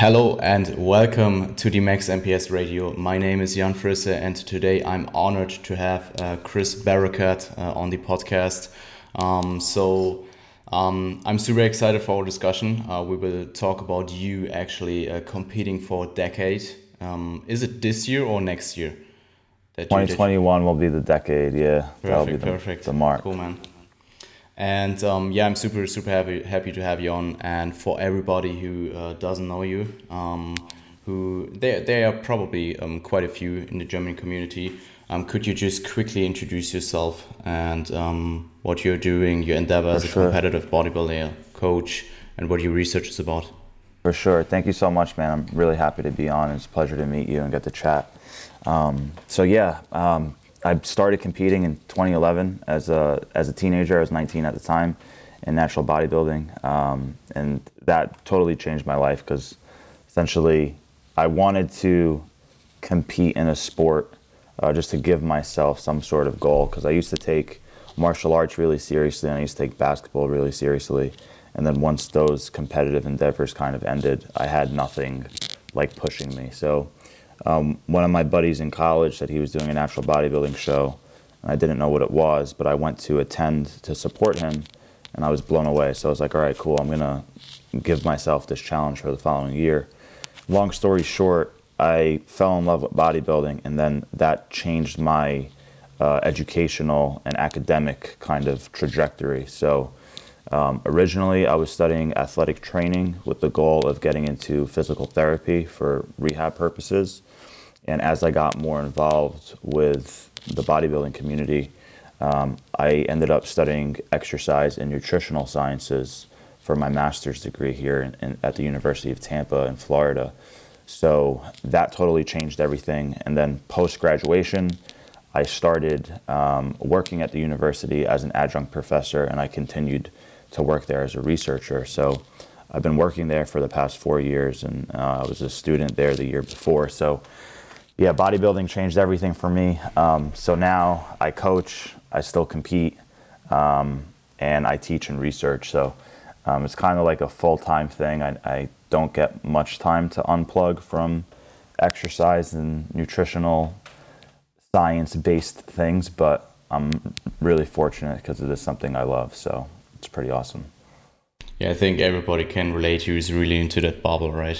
Hello and welcome to the Max MPS Radio. My name is Jan Frisse and today I'm honored to have Chris Barakat on the podcast. I'm super excited for our discussion. We will talk about you actually competing for a decade. Is it this year or next year? 2021 will be the decade, yeah. That'll be the mark. Cool, man. And I'm super happy to have you on. And for everybody who doesn't know you, who there are probably quite a few in the German community. Could you just quickly introduce yourself and what you're doing, your endeavor as a competitive bodybuilder, coach, and what your research is about? For sure. Thank you so much, man. I'm really happy to be on. It's a pleasure to meet you and get to chat. I started competing in 2011 as a teenager. I was 19 at the time in natural bodybuilding, and that totally changed my life because essentially I wanted to compete in a sport just to give myself some sort of goal, because I used to take martial arts really seriously and I used to take basketball really seriously, and then once those competitive endeavors kind of ended, I had nothing like pushing me. So one of my buddies in college said he was doing a natural bodybuilding show, and I didn't know what it was, but I went to attend to support him, and I was blown away. So I was like, all right, cool, I'm gonna give myself this challenge for the following year. Long story short, I fell in love with bodybuilding, and then that changed my educational and academic kind of trajectory. So originally I was studying athletic training with the goal of getting into physical therapy for rehab purposes. And as I got more involved with the bodybuilding community, I ended up studying exercise and nutritional sciences for my master's degree here at the University of Tampa in Florida. So that totally changed everything. And then post-graduation, I started working at the university as an adjunct professor, and I continued to work there as a researcher. So I've been working there for the past 4 years, and I was a student there the year before. So yeah, bodybuilding changed everything for me. So now I coach, I still compete, and I teach and research. So it's kind of like a full-time thing. I don't get much time to unplug from exercise and nutritional science-based things, but I'm really fortunate because it is something I love. So it's pretty awesome. Yeah, I think everybody can relate who's really into that bubble, right?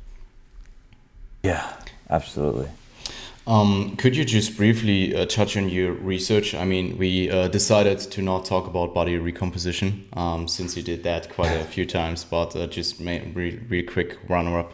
Yeah, absolutely. Could you just briefly touch on your research? I mean, we decided to not talk about body recomposition since you did that quite a few times, but just real quick runner-up.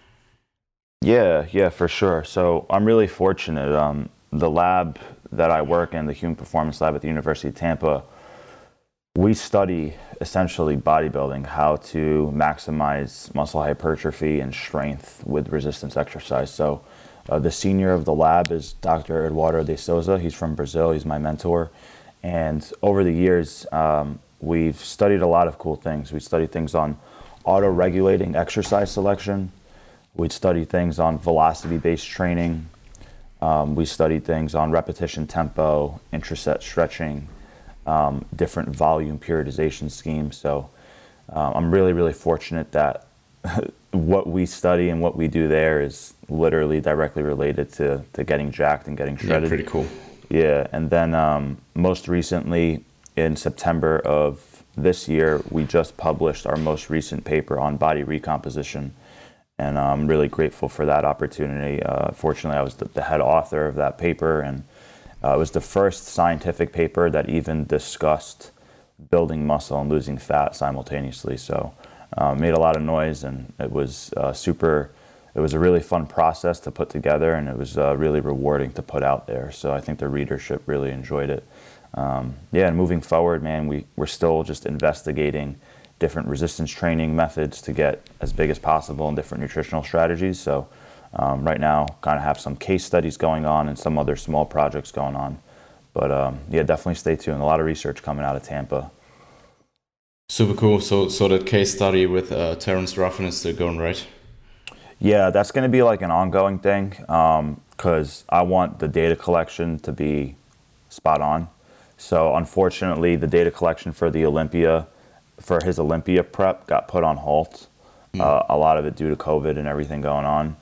Yeah, for sure. So I'm really fortunate. The lab that I work in, the Human Performance Lab at the University of Tampa, we study essentially bodybuilding, how to maximize muscle hypertrophy and strength with resistance exercise. So the senior of the lab is Dr. Eduardo de Souza. He's from Brazil. He's my mentor. And over the years, we've studied a lot of cool things. We studied things on auto-regulating exercise selection. We studied things on velocity-based training. We studied things on repetition tempo, intraset stretching, different volume periodization schemes. So I'm really fortunate that what we study and what we do there is literally directly related to getting jacked and getting shredded. Yeah, pretty cool. Yeah, and then most recently in September of this year, we just published our most recent paper on body recomposition. And I'm really grateful for that opportunity. Fortunately, I was the head author of that paper, and it was the first scientific paper that even discussed building muscle and losing fat simultaneously. So made a lot of noise, and it was it was a really fun process to put together, and it was really rewarding to put out there. So I think the readership really enjoyed it. And moving forward, man, we're still just investigating different resistance training methods to get as big as possible in different nutritional strategies. So right now, kind of have some case studies going on and some other small projects going on. But definitely stay tuned. A lot of research coming out of Tampa. Super cool. So that case study with Terence Ruffin is still going, right? Yeah, that's going to be like an ongoing thing because I want the data collection to be spot on. So unfortunately, the data collection for his Olympia prep got put on hold. A lot of it due to COVID and everything going on.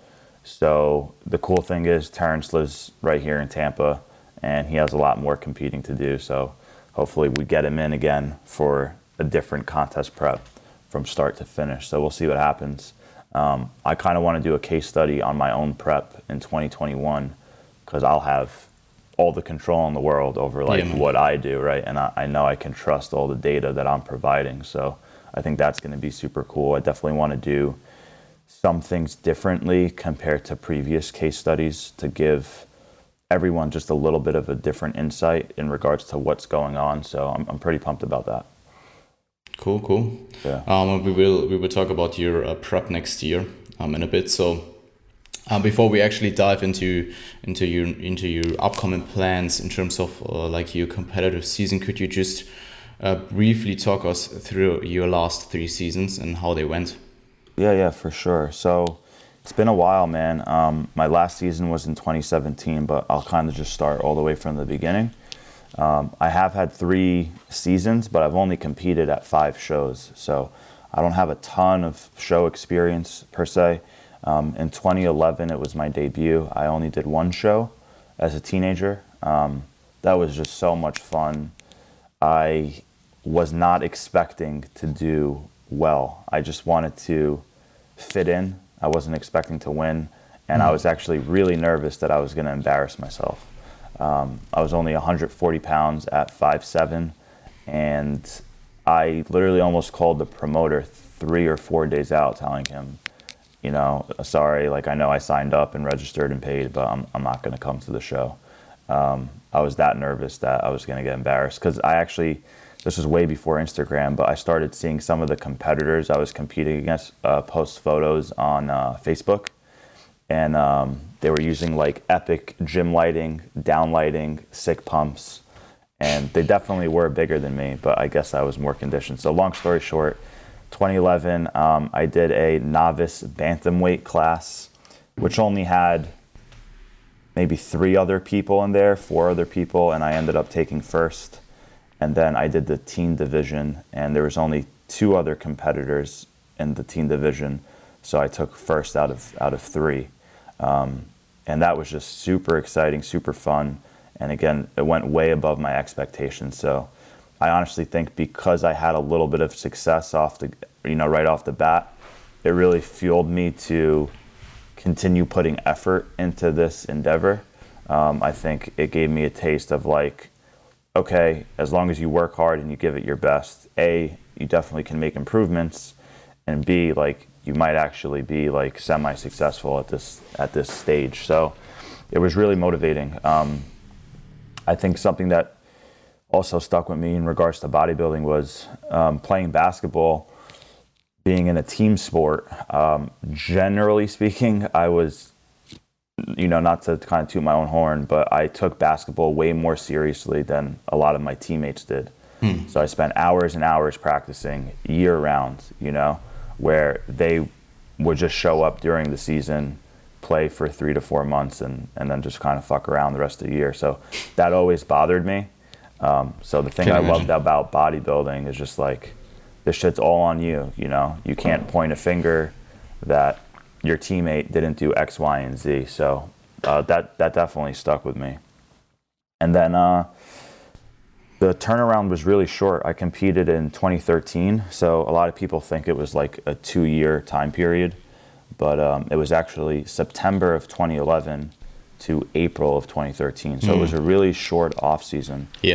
So the cool thing is Terrence lives right here in Tampa, and he has a lot more competing to do. So hopefully we get him in again for a different contest prep from start to finish. So we'll see what happens. I kind of want to do a case study on my own prep in 2021 because I'll have all the control in the world over what I do, right? And I know I can trust all the data that I'm providing. So I think that's going to be super cool. I definitely want to do some things differently compared to previous case studies to give everyone just a little bit of a different insight in regards to what's going on. So I'm pretty pumped about that. Cool. Yeah. We will talk about your prep next year in a bit. So before we actually dive into your upcoming plans in terms of like your competitive season, could you just briefly talk us through your last 3 seasons and how they went? Yeah, for sure. So it's been a while, man. My last season was in 2017, but I'll kind of just start all the way from the beginning. I have had 3 seasons, but I've only competed at 5 shows. So I don't have a ton of show experience per se. In 2011, it was my debut. I only did 1 show as a teenager. That was just so much fun. I was not expecting to do well. I just wanted to fit in. I wasn't expecting to win. And I was actually really nervous that I was going to embarrass myself. I was only 140 pounds at 5'7", and I literally almost called the promoter 3 or 4 days out telling him, sorry, like I know I signed up and registered and paid, but I'm not going to come to the show. I was that nervous that I was going to get embarrassed because this was way before Instagram, but I started seeing some of the competitors I was competing against post photos on Facebook. And they were using like epic gym lighting, down lighting, sick pumps. And they definitely were bigger than me, but I guess I was more conditioned. So long story short, 2011, I did a novice bantamweight class, which only had maybe 3 other people in there, 4 other people, and I ended up taking first. And then I did the teen division, and there was only 2 other competitors in the teen division, so I took first out of 3. And that was just super exciting, super fun. And again, it went way above my expectations. So I honestly think because I had a little bit of success right off the bat, it really fueled me to continue putting effort into this endeavor. I think it gave me a taste of like, okay, as long as you work hard and you give it your best, A, you definitely can make improvements, and B, like you might actually be like semi-successful at this stage. So it was really motivating. I think something that also stuck with me in regards to bodybuilding was playing basketball, being in a team sport. Generally speaking, I was, not to kind of toot my own horn, but I took basketball way more seriously than a lot of my teammates did. So I spent hours and hours practicing year round, where they would just show up during the season, play for 3 to 4 months, and then just kind of fuck around the rest of the year. So that always bothered me. So the thing I loved about bodybuilding is just like, this shit's all on you, You can't point a finger that your teammate didn't do X, Y, and Z. So that definitely stuck with me. And then the turnaround was really short. I competed in 2013, so a lot of people think it was like a 2-year time period, but it was actually September of 2011 to April of 2013. So it was a really short off season. Yeah.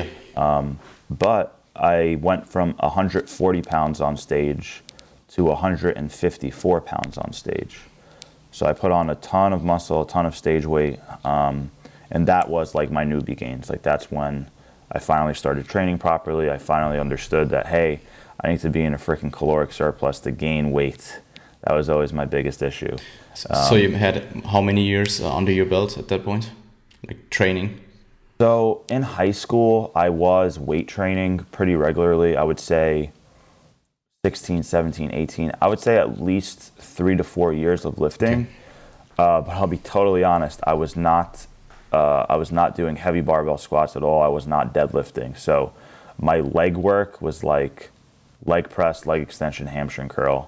But I went from 140 pounds on stage to 154 pounds on stage. So I put on a ton of muscle, a ton of stage weight, and that was like my newbie gains. Like that's when I finally started training properly. I finally understood that, hey, I need to be in a freaking caloric surplus to gain weight. That was always my biggest issue. So you had how many years under your belt at that point, like training? So in high school, I was weight training pretty regularly. I would say 16, 17, 18. I would say at least 3 to 4 years of lifting. Okay. But I'll be totally honest, I was not doing heavy barbell squats at all. I was not deadlifting. So my leg work was like leg press, leg extension, hamstring curl.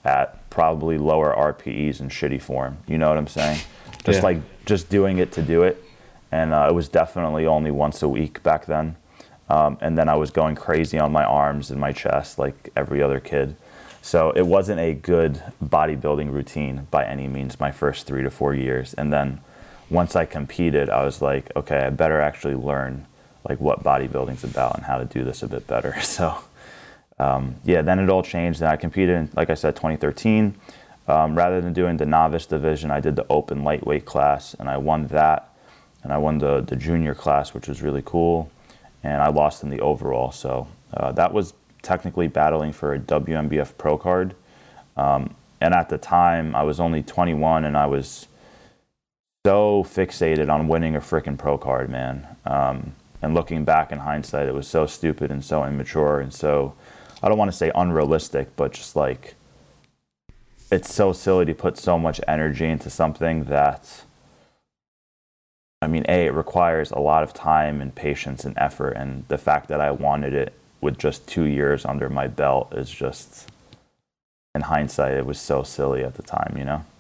at probably lower RPEs and shitty form. You know what I'm saying? Just Yeah. like just doing it to do it. And it was definitely only once a week back then. And then I was going crazy on my arms and my chest like every other kid. So it wasn't a good bodybuilding routine by any means my first 3 to 4 years. And then once I competed, I was like, okay, I better actually learn like what bodybuilding's about and how to do this a bit better. So yeah, then it all changed. And I competed in, like I said, 2013. Rather than doing the novice division, I did the open lightweight class, and I won that. And I won the junior class, which was really cool. And I lost in the overall. So that was technically battling for a WMBF pro card. And at the time, I was only 21, and I was so fixated on winning a freaking pro card, man. And looking back in hindsight, it was so stupid and so immature and so, I don't want to say unrealistic, but just like, it's so silly to put so much energy into something that, I mean, A, it requires a lot of time and patience and effort. And the fact that I wanted it with just 2 years under my belt is just, in hindsight, it was so silly at the time, you know?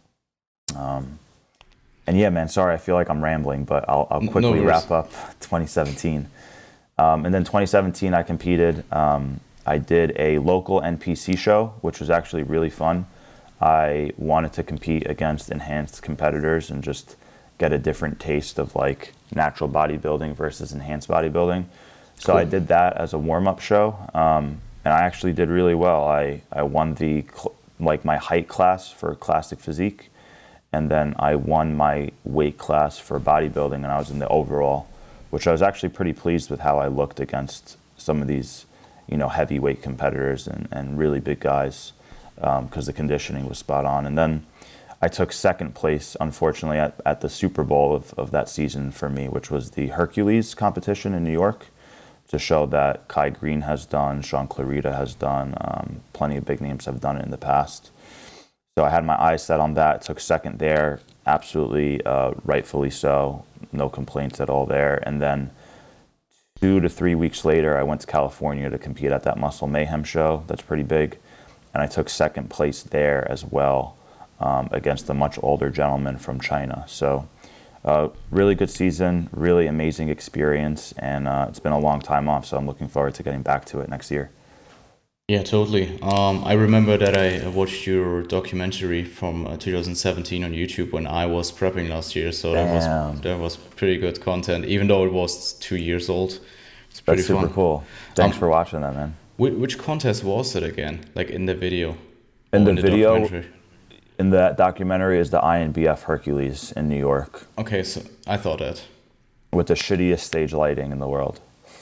And yeah, man, sorry, I feel like I'm rambling, but I'll quickly wrap up 2017. And then 2017, I competed. I did a local NPC show, which was actually really fun. I wanted to compete against enhanced competitors and just get a different taste of like natural bodybuilding versus enhanced bodybuilding. So cool. I did that as a warm-up show, and I actually did really well. I won the my height class for classic physique, and then I won my weight class for bodybuilding, and I was in the overall, which I was actually pretty pleased with how I looked against some of these, you know, heavyweight competitors and really big guys, because the conditioning was spot on. And then I took second place, unfortunately, at the Super Bowl of that season for me, which was the Hercules competition in New York, to show that Kai Green has done, Sean Clarita has done, plenty of big names have done it in the past. So I had my eyes set on that, took second there, absolutely rightfully so, no complaints at all there. And then 2 to 3 weeks later, I went to California to compete at that Muscle Mayhem show. That's pretty big. And I took second place there as well, against a much older gentleman from China. So really good season, really amazing experience. And it's been a long time off, so I'm looking forward to getting back to it next year. Yeah, totally. I remember that I watched your documentary from 2017 on YouTube when I was prepping last year. So that was pretty good content, even though it was 2 years old. It's pretty fun. That's super cool. Thanks for watching that, man. Which contest was it again? Like in the video? In the video, in that documentary is the INBF Hercules in New York. Okay, so I thought that. With the shittiest stage lighting in the world.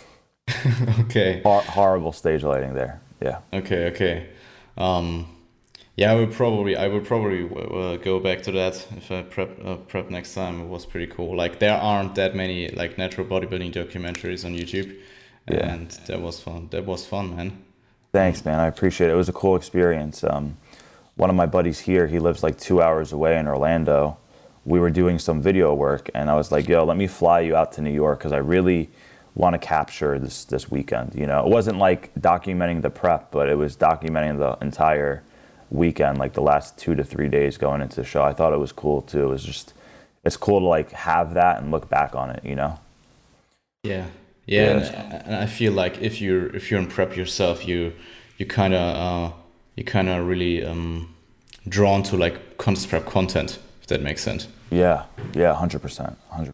Okay. Horrible stage lighting there. Yeah. Okay. Yeah, I will probably go back to that if I prep next time. It was pretty cool. Like there aren't that many like natural bodybuilding documentaries on YouTube, and that was fun. That was fun, man. Thanks, man. I appreciate it. It was a cool experience. One of my buddies here, he lives like 2 hours away in Orlando. We were doing some video work, and I was like, "Yo, let me fly you out to New York because I really want to capture this weekend." You know, it wasn't like documenting the prep, but it was documenting the entire weekend, like the last 2 to 3 days going into the show. I thought it was cool too. It was just, it's cool to like have that and look back on it, you know? Yeah. And I feel like if you're in prep yourself, you kind of really drawn to like contest prep content, if that makes sense. Yeah, 100%.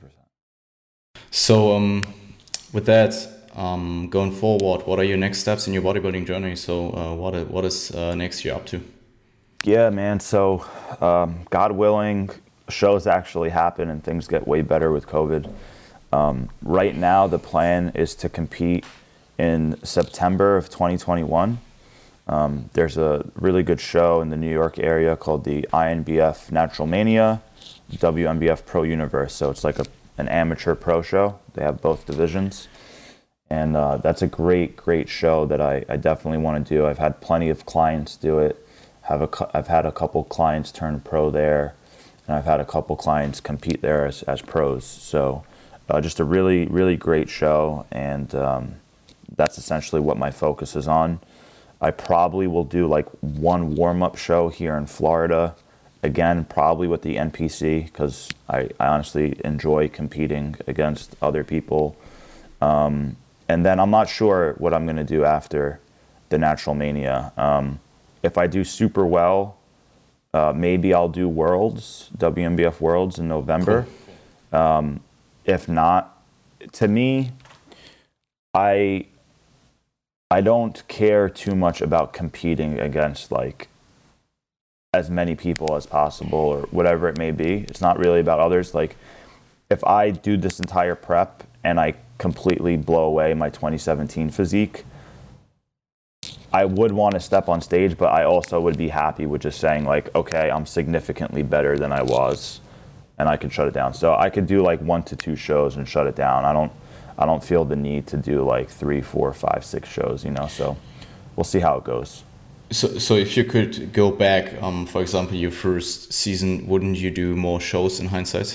So with that, going forward, what are your next steps in your bodybuilding journey? So what is next year up to? Yeah, man. So God willing, shows actually happen and things get way better with COVID. Right now, the plan is to compete in September of 2021. There's a really good show in the New York area called the INBF Natural Mania, WMBF Pro Universe. So it's like an amateur pro show. They have both divisions. And that's a great show that I definitely want to do. I've had plenty of clients do it. I've had a couple clients turn pro there, and I've had a couple clients compete there as pros. So just a really great show, and that's essentially what my focus is on. I probably will do like one warm-up show here in Florida. Again, probably with the NPC, because I honestly enjoy competing against other people. And then I'm not sure what I'm going to do after the Natural Mania. If I do super well, maybe I'll do Worlds, WMBF Worlds in November. Cool. If not, to me, I don't care too much about competing against like as many people as possible or whatever it may be. It's not really about others. Like if I do this entire prep and I completely blow away my 2017 physique, I would want to step on stage, but I also would be happy with just saying like, okay, I'm significantly better than I was, and I could shut it down. So I could do like 1 to 2 shows and shut it down. I don't feel the need to do like 3, 4, 5, 6 shows, you know. So we'll see how it goes. So if you could go back, for example, your first season, wouldn't you do more shows in hindsight?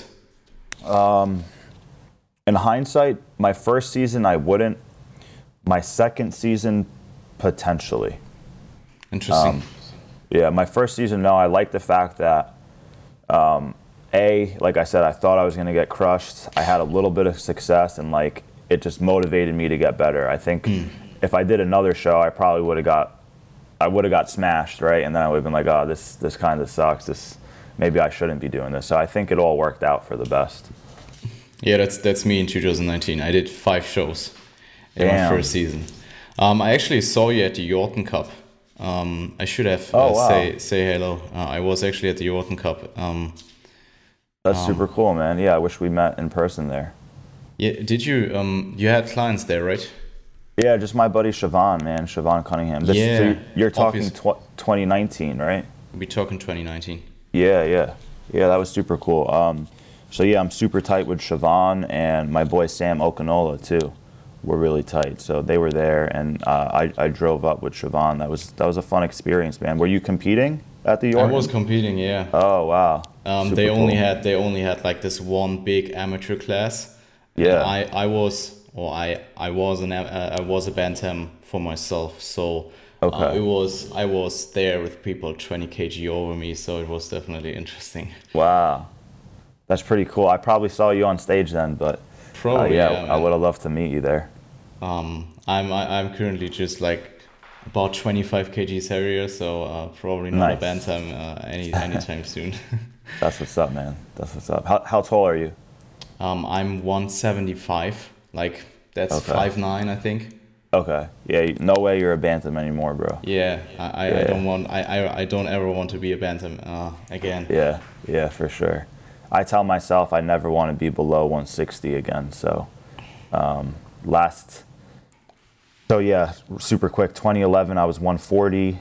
In hindsight, my first season I wouldn't. My second season, potentially. Interesting. Yeah, my first season, no. I like the fact that, like I said, I thought I was going to get crushed. I had a little bit of success, and like it just motivated me to get better. I think if I did another show, I probably would have got smashed, right? And then I would have been like, oh, this kind of sucks. Maybe I shouldn't be doing this. So I think it all worked out for the best. Yeah, that's me in 2019. I did 5 shows in my first season. I actually saw you at the Yorton Cup. I should have say hello. I was actually at the Yorton Cup. That's super cool, man. Yeah, I wish we met in person there. Yeah, did you? You had clients there, right? Yeah, just my buddy Siobhan, man. Siobhan Cunningham. You're talking 2019, right? We're talking 2019. Yeah, that was super cool. So yeah, I'm super tight with Siobhan, and my boy Sam Okanola too. We're really tight. So they were there, and I drove up with Siobhan. That was a fun experience, man. Were you competing at the Yorton? I was competing, yeah. Oh wow. They only had like this one big amateur class. Yeah. I was a bantam for myself, so okay. I was there with people 20 kg over me, so it was definitely interesting. Wow, that's pretty cool. I probably saw you on stage then, but probably I would have loved to meet you there. I'm currently just like about 25 kgs heavier, so probably not a bantam anytime soon. That's what's up, man. That's what's up. How tall are you? I'm 175. Like that's 5'9", I think. Okay. Yeah. No way you're a bantam anymore, bro. Yeah. I don't ever want to be a bantam again. Yeah. Yeah, for sure. I tell myself I never want to be below 160 again. So, super quick. 2011 I was 140.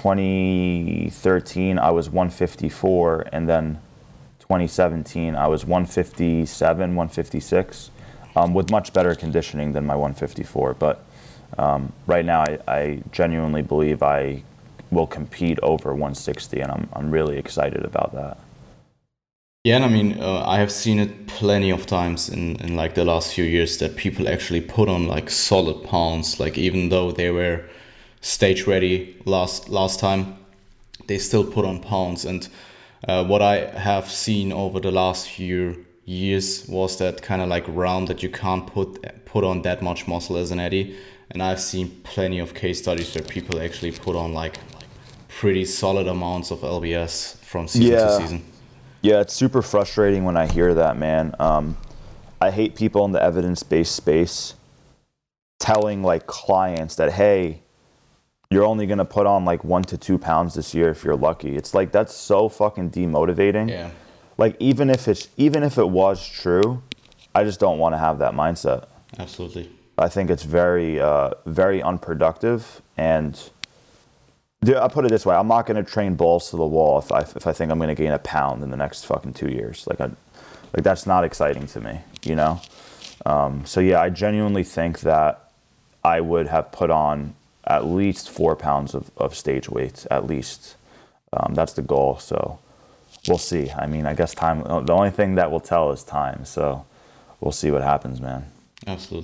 2013 I was 154, and then 2017 I was 157, 156, with much better conditioning than my 154. But right now I genuinely believe I will compete over 160, and I'm really excited about that. Yeah, and I mean, I have seen it plenty of times in like the last few years that people actually put on like solid pounds, like even though they were stage ready last time, they still put on pounds. And what I have seen over the last few years was that kind of like round that you can't put on that much muscle as an Eddie. And I've seen plenty of case studies where people actually put on like pretty solid amounts of LBS from season to season. Yeah, it's super frustrating when I hear that, man. I hate people in the evidence-based space telling like clients that, hey, you're only gonna put on like 1 to 2 pounds this year if you're lucky. It's like that's so fucking demotivating. Yeah. Like even if it was true, I just don't want to have that mindset. Absolutely. I think it's very, very unproductive. And I put it this way: I'm not going to train balls to the wall if I think I'm going to gain a pound in the next fucking 2 years. Like that's not exciting to me, you know. So yeah, I genuinely think that I would have put on at least 4 pounds of stage weight, at least. That's the goal. So we'll see. I mean, I guess time. The only thing that will tell is time. So we'll see what happens, man. Absolutely.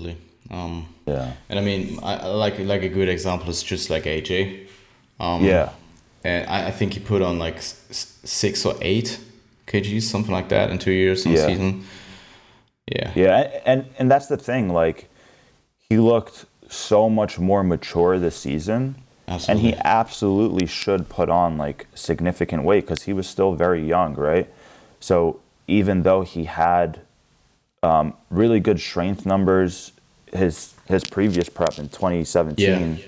Yeah. And I mean, I like a good example is just like AJ. Yeah. And I think he put on like 6 or 8 kgs, something like that, in 2 years on Yeah. season. Yeah. Yeah. And that's the thing. Like, he looked so much more mature this season. Absolutely. And he absolutely should put on like significant weight because he was still very young, right? So even though he had really good strength numbers, his previous prep in 2017,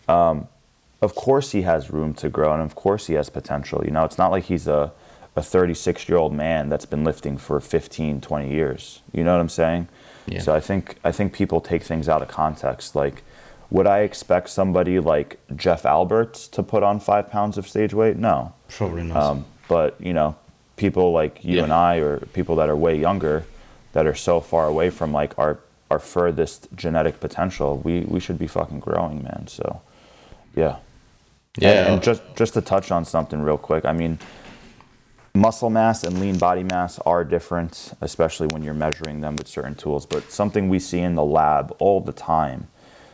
of course he has room to grow, and of course he has potential. You know, it's not like he's a 36-year-old man that's been lifting for 15, 20 years. You know what I'm saying? Yeah. So I think people take things out of context. Like, would I expect somebody like Jeff Alberts to put on 5 pounds of stage weight? No. Probably not. But, you know, people like you and I, or people that are way younger, that are so far away from like our furthest genetic potential, we should be fucking growing, man. So, yeah. Yeah. And just to touch on something real quick, I mean, muscle mass and lean body mass are different, especially when you're measuring them with certain tools. But something we see in the lab all the time,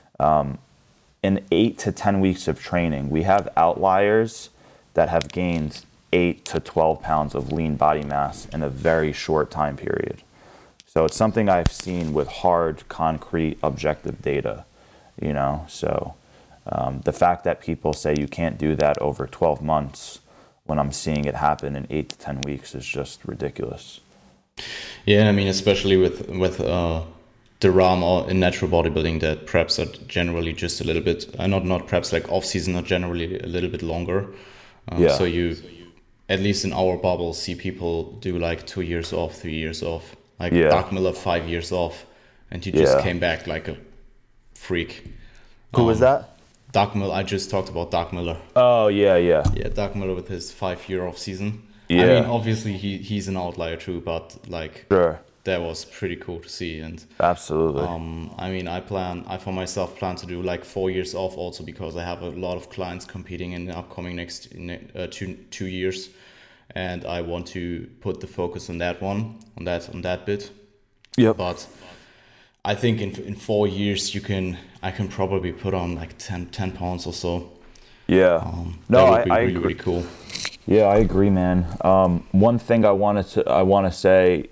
in 8 to 10 weeks of training, we have outliers that have gained 8 to 12 pounds of lean body mass in a very short time period. So it's something I've seen with hard, concrete, objective data, you know. So the fact that people say you can't do that over 12 months when I'm seeing it happen in 8 to 10 weeks is just ridiculous. Yeah, I mean, especially with the realm or in natural bodybuilding, that preps are generally just a little bit, not preps, like off season are generally a little bit longer. So you, at least in our bubble, see people do like 2 years off, 3 years off. Like Doug Miller, 5 years off, and he just came back like a freak. Who was that? Doug Miller. I just talked about Doug Miller. Oh, yeah. Yeah, Doug Miller with his 5-year off season. Yeah. I mean, obviously he's an outlier too, but like Sure. that was pretty cool to see. And Absolutely. I mean, I for myself plan to do like 4 years off also, because I have a lot of clients competing in the upcoming next 2 years, and I want to put the focus on that one, on that bit. Yep. But I think in 4 years I can probably put on like 10 pounds or so. Yeah. That would be I really, agree. really cool. Yeah, I agree, man. One thing I want to say,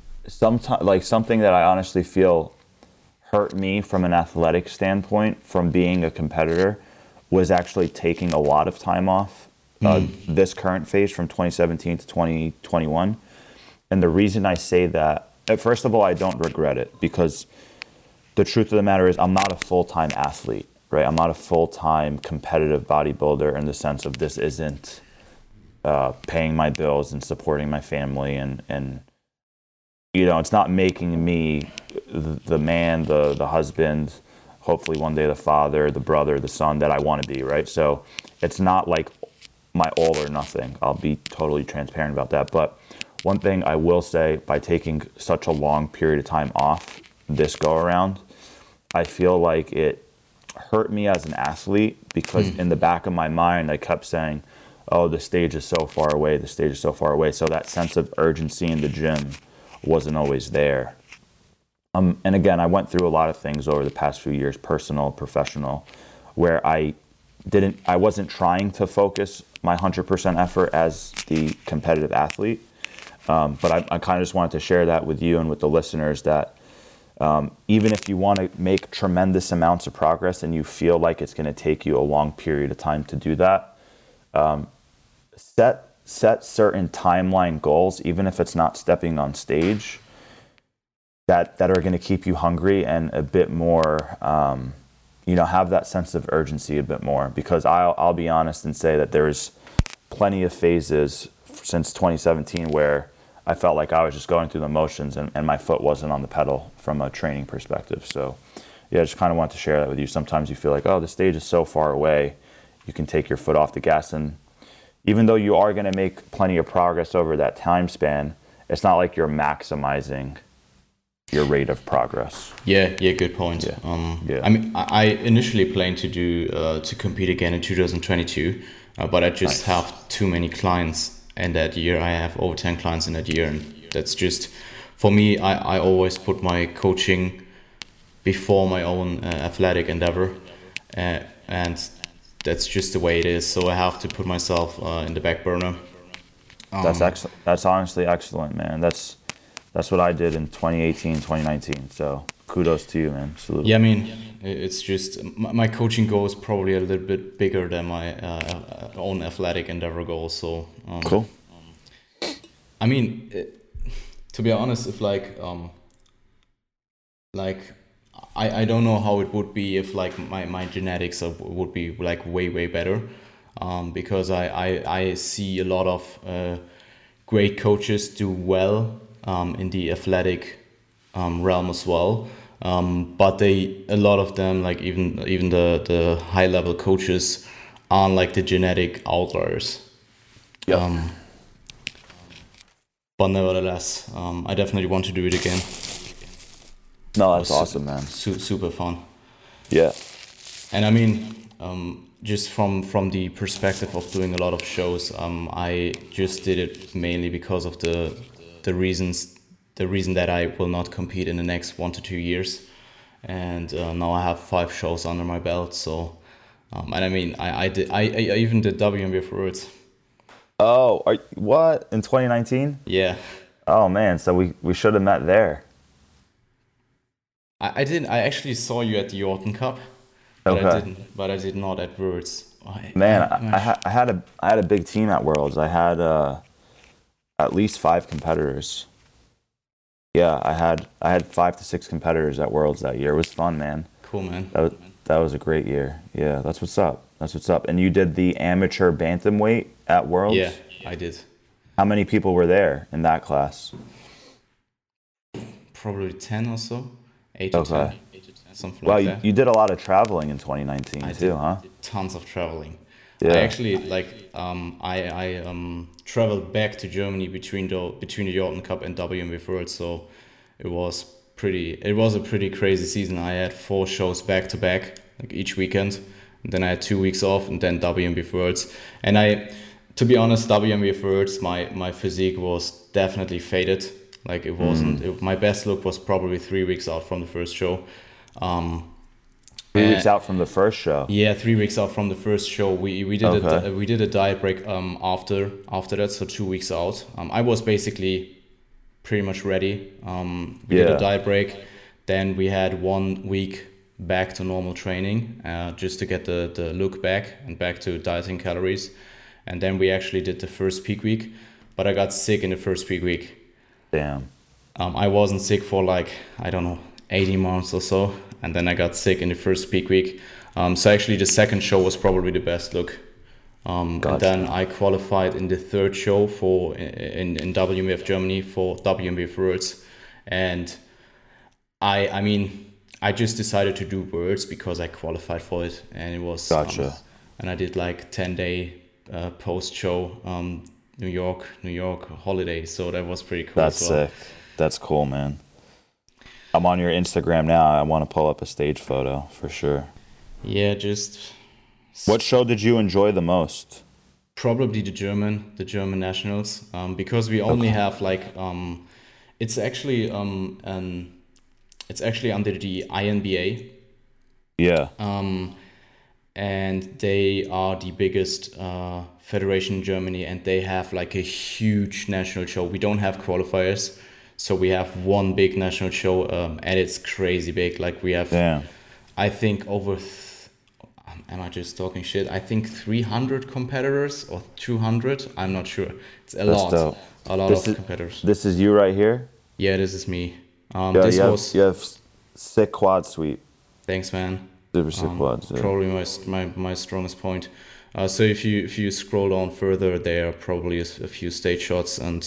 something that I honestly feel hurt me from an athletic standpoint from being a competitor was actually taking a lot of time off this current phase from 2017 to 2021. And the reason I say that, first of all, I don't regret it, because the truth of the matter is I'm not a full-time athlete, right? I'm not a full-time competitive bodybuilder in the sense of this isn't paying my bills and supporting my family, and you know, it's not making me the man, the husband, hopefully one day the father, the brother, the son that I want to be, right? So it's not like my all or nothing. I'll be totally transparent about that. But one thing I will say, by taking such a long period of time off this go around, I feel like it hurt me as an athlete, because in the back of my mind I kept saying, oh, the stage is so far away, the stage is so far away. So that sense of urgency in the gym wasn't always there. And again, I went through a lot of things over the past few years, personal, professional, where I wasn't trying to focus my 100% effort as the competitive athlete. But I kind of just wanted to share that with you and with the listeners, that even if you want to make tremendous amounts of progress and you feel like it's going to take you a long period of time to do that, set certain timeline goals, even if it's not stepping on stage, that are going to keep you hungry and a bit more, have that sense of urgency a bit more. Because I'll be honest and say that there's plenty of phases since 2017 where I felt like I was just going through the motions and my foot wasn't on the pedal from a training perspective. So yeah, I just kind of want to share that with you. Sometimes you feel like, oh, the stage is so far away, you can take your foot off the gas. And even though you are going to make plenty of progress over that time span, it's not like you're maximizing your rate of progress. Yeah, good point. Yeah. I mean, I initially planned to do to compete again in 2022, but I just have too many clients in that year. I have over 10 clients in that year, and that's just, for me, I always put my coaching before my own athletic endeavor, and that's just the way it is. So I have to put myself in the back burner. That's excellent. That's honestly excellent, man. That's what I did in 2018, 2019. So kudos to you, man. Salute. Yeah, I mean, it's just my coaching goal is probably a little bit bigger than my own athletic endeavor goal. So Cool. I mean, to be honest, if like I don't know how it would be if like my genetics would be like way better, because I see a lot of great coaches do well in the athletic realm as well, but a lot of them, like even the high level coaches, aren't like the genetic outliers. Yeah. But nevertheless, I definitely want to do it again. No, that's awesome, man. Super fun. Yeah. And I mean, just from the perspective of doing a lot of shows, I just did it mainly because of the reason that I will not compete in the next 1 to 2 years, and now I have 5 shows under my belt. So, and I mean, I even did WNBA for Worlds. Oh, what? In 2019? Yeah. Oh, man. So we should have met there. I didn't. I actually saw you at the Yorton Cup, but Okay. I didn't. But I did not at Worlds. Man, I had a big team at Worlds. I had at least 5 competitors. Yeah, I had 5 to 6 competitors at Worlds that year. It was fun, man. Cool, man. That was a great year. Yeah, that's what's up. That's what's up. And you did the amateur bantamweight at Worlds? Yeah, I did. How many people were there in that class? Probably 10 or so. 8 to 10. Something Well, like that. you did a lot of traveling in 2019 I too, did huh? Tons of traveling. Yeah. I actually I traveled back to Germany between the Jordan Cup and WMF World, so it was a pretty crazy season. I had 4 shows back to back, like each weekend, and then I had 2 weeks off, and then WMF Worlds. And to be honest, WMF Worlds, my physique was definitely faded. Like it wasn't. My best look was probably 3 weeks out from the first show. 3 weeks out from the first show. Yeah, 3 weeks out from the first show. We did Okay. we did a diet break after that, so 2 weeks out. I was basically pretty much ready. We did Yeah. a diet break, then we had 1 week back to normal training, just to get the look back and back to dieting calories, and then we actually did the first peak week. But I got sick in the first peak week. Damn. I wasn't sick for like, I don't know, 18 months or so. And then I got sick in the first peak week. So actually the second show was probably the best look. And then I qualified in the third show in WMF Germany for WMF Worlds. And I mean, I just decided to do Worlds because I qualified for it. And it was, Gotcha. and I did like 10-day post show, New York holiday. So that was pretty cool. That's as well. sick. That's cool, man. I'm on your Instagram now. I want to pull up a stage photo for sure. Yeah, just What show did you enjoy the most? probably the German nationals, because we only have like it's actually it's actually under the INBA, Yeah. and they are the biggest federation in Germany, and they have like a huge national show. We don't have qualifiers, so we have one big national show, and it's crazy big. Like we have, Damn. I think am I just talking shit? I think 300 competitors or 200. I'm not sure. It's a That's lot. dope. A lot This of is- competitors. This is you right here? Yeah, this is me. Yeah, This you have sick quad sweep. thanks, man. Super sick quads. Yeah. Probably my strongest point. So if you scroll down further, there are probably a few stage shots, and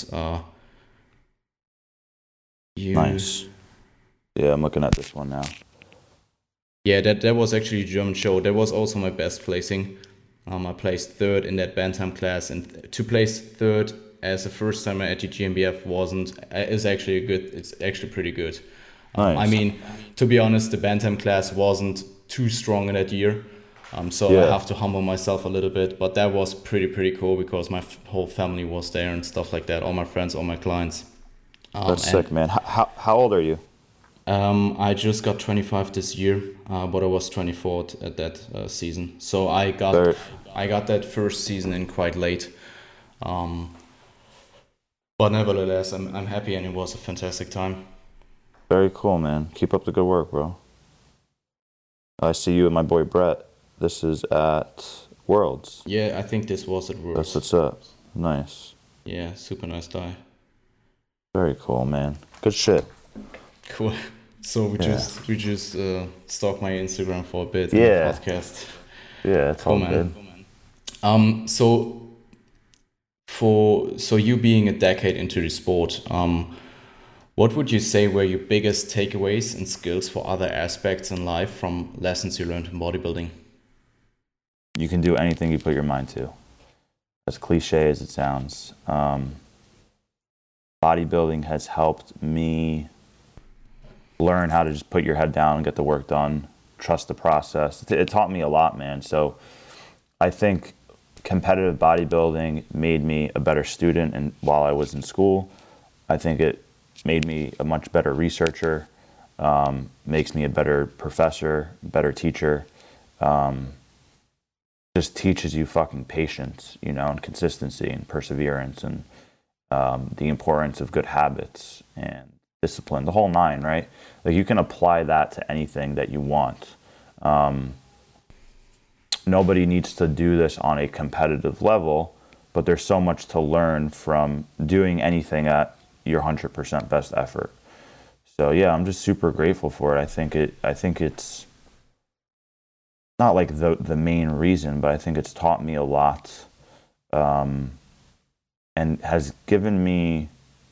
Nice. Yeah, I'm looking at this one now. Yeah, that was actually a German show. That was also my best placing. I placed third in that bantam class, and to place third as a first timer at the GmbF is actually it's actually pretty good. Nice. I mean, to be honest, the bantam class wasn't too strong in that year, so Yeah. I have to humble myself a little bit. But that was pretty cool because my whole family was there and stuff like that. All my friends, all my clients. That's And sick, man. How old are you? I just got 25 this year, but I was 24 at that season. So Very, I got that first season in quite late. Um, but nevertheless, I'm happy, and it was a fantastic time. very cool, man. Keep up the good work, bro. I see you and my boy Brett. This is at Worlds. Yeah, I think this was at That's Worlds. what's up. Nice. Yeah, super nice guy. Very cool, man. Good shit. Cool. So Yeah. we just stalked my Instagram for a bit in the Yeah. podcast. Yeah, it's Cool, all man. good. So so you being a decade into the sport, what would you say were your biggest takeaways and skills for other aspects in life from lessons you learned in bodybuilding? You can do anything you put your mind to. As cliche as it sounds. Bodybuilding has helped me learn how to just put your head down and get the work done. Trust the process. It taught me a lot, man. So I think competitive bodybuilding made me a better student, and while I was in school, I think it made me a much better researcher, makes me a better professor, better teacher. Just teaches you fucking patience, and consistency and perseverance, and the importance of good habits and discipline, the whole nine, right? Like you can apply that to anything that you want. Nobody needs to do this on a competitive level, but there's so much to learn from doing anything at your 100% best effort. So yeah, I'm just super grateful for it. I think it's not like the main reason, but I think it's taught me a lot, and has given me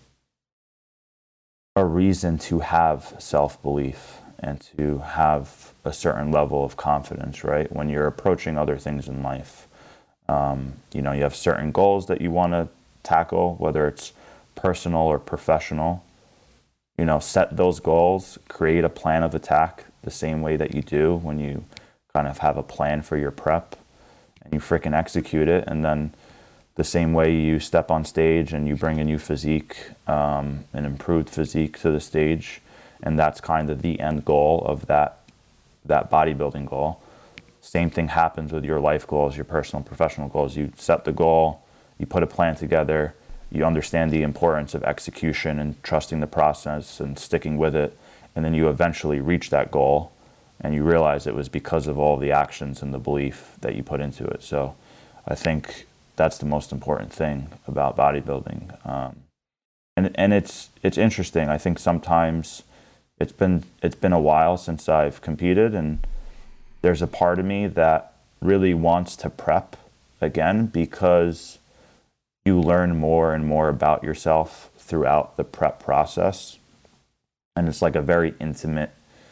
a reason to have self-belief and to have a certain level of confidence, right? When you're approaching other things in life, you have certain goals that you want to tackle, whether it's personal or professional. Set those goals, create a plan of attack the same way that you do when you kind of have a plan for your prep, and you freaking execute it. And then the same way you step on stage and you bring a new physique, an improved physique to the stage, and that's kind of the end goal of that bodybuilding goal. Same thing happens with your life goals, your personal and professional goals. You set the goal, you put a plan together, you understand the importance of execution and trusting the process and sticking with it, and then you eventually reach that goal, and you realize it was because of all the actions and the belief that you put into it. So I think that's the most important thing about bodybuilding. And it's interesting. I think sometimes it's been a while since I've competed, and there's a part of me that really wants to prep again, because you learn more and more about yourself throughout the prep process. And it's like a very intimate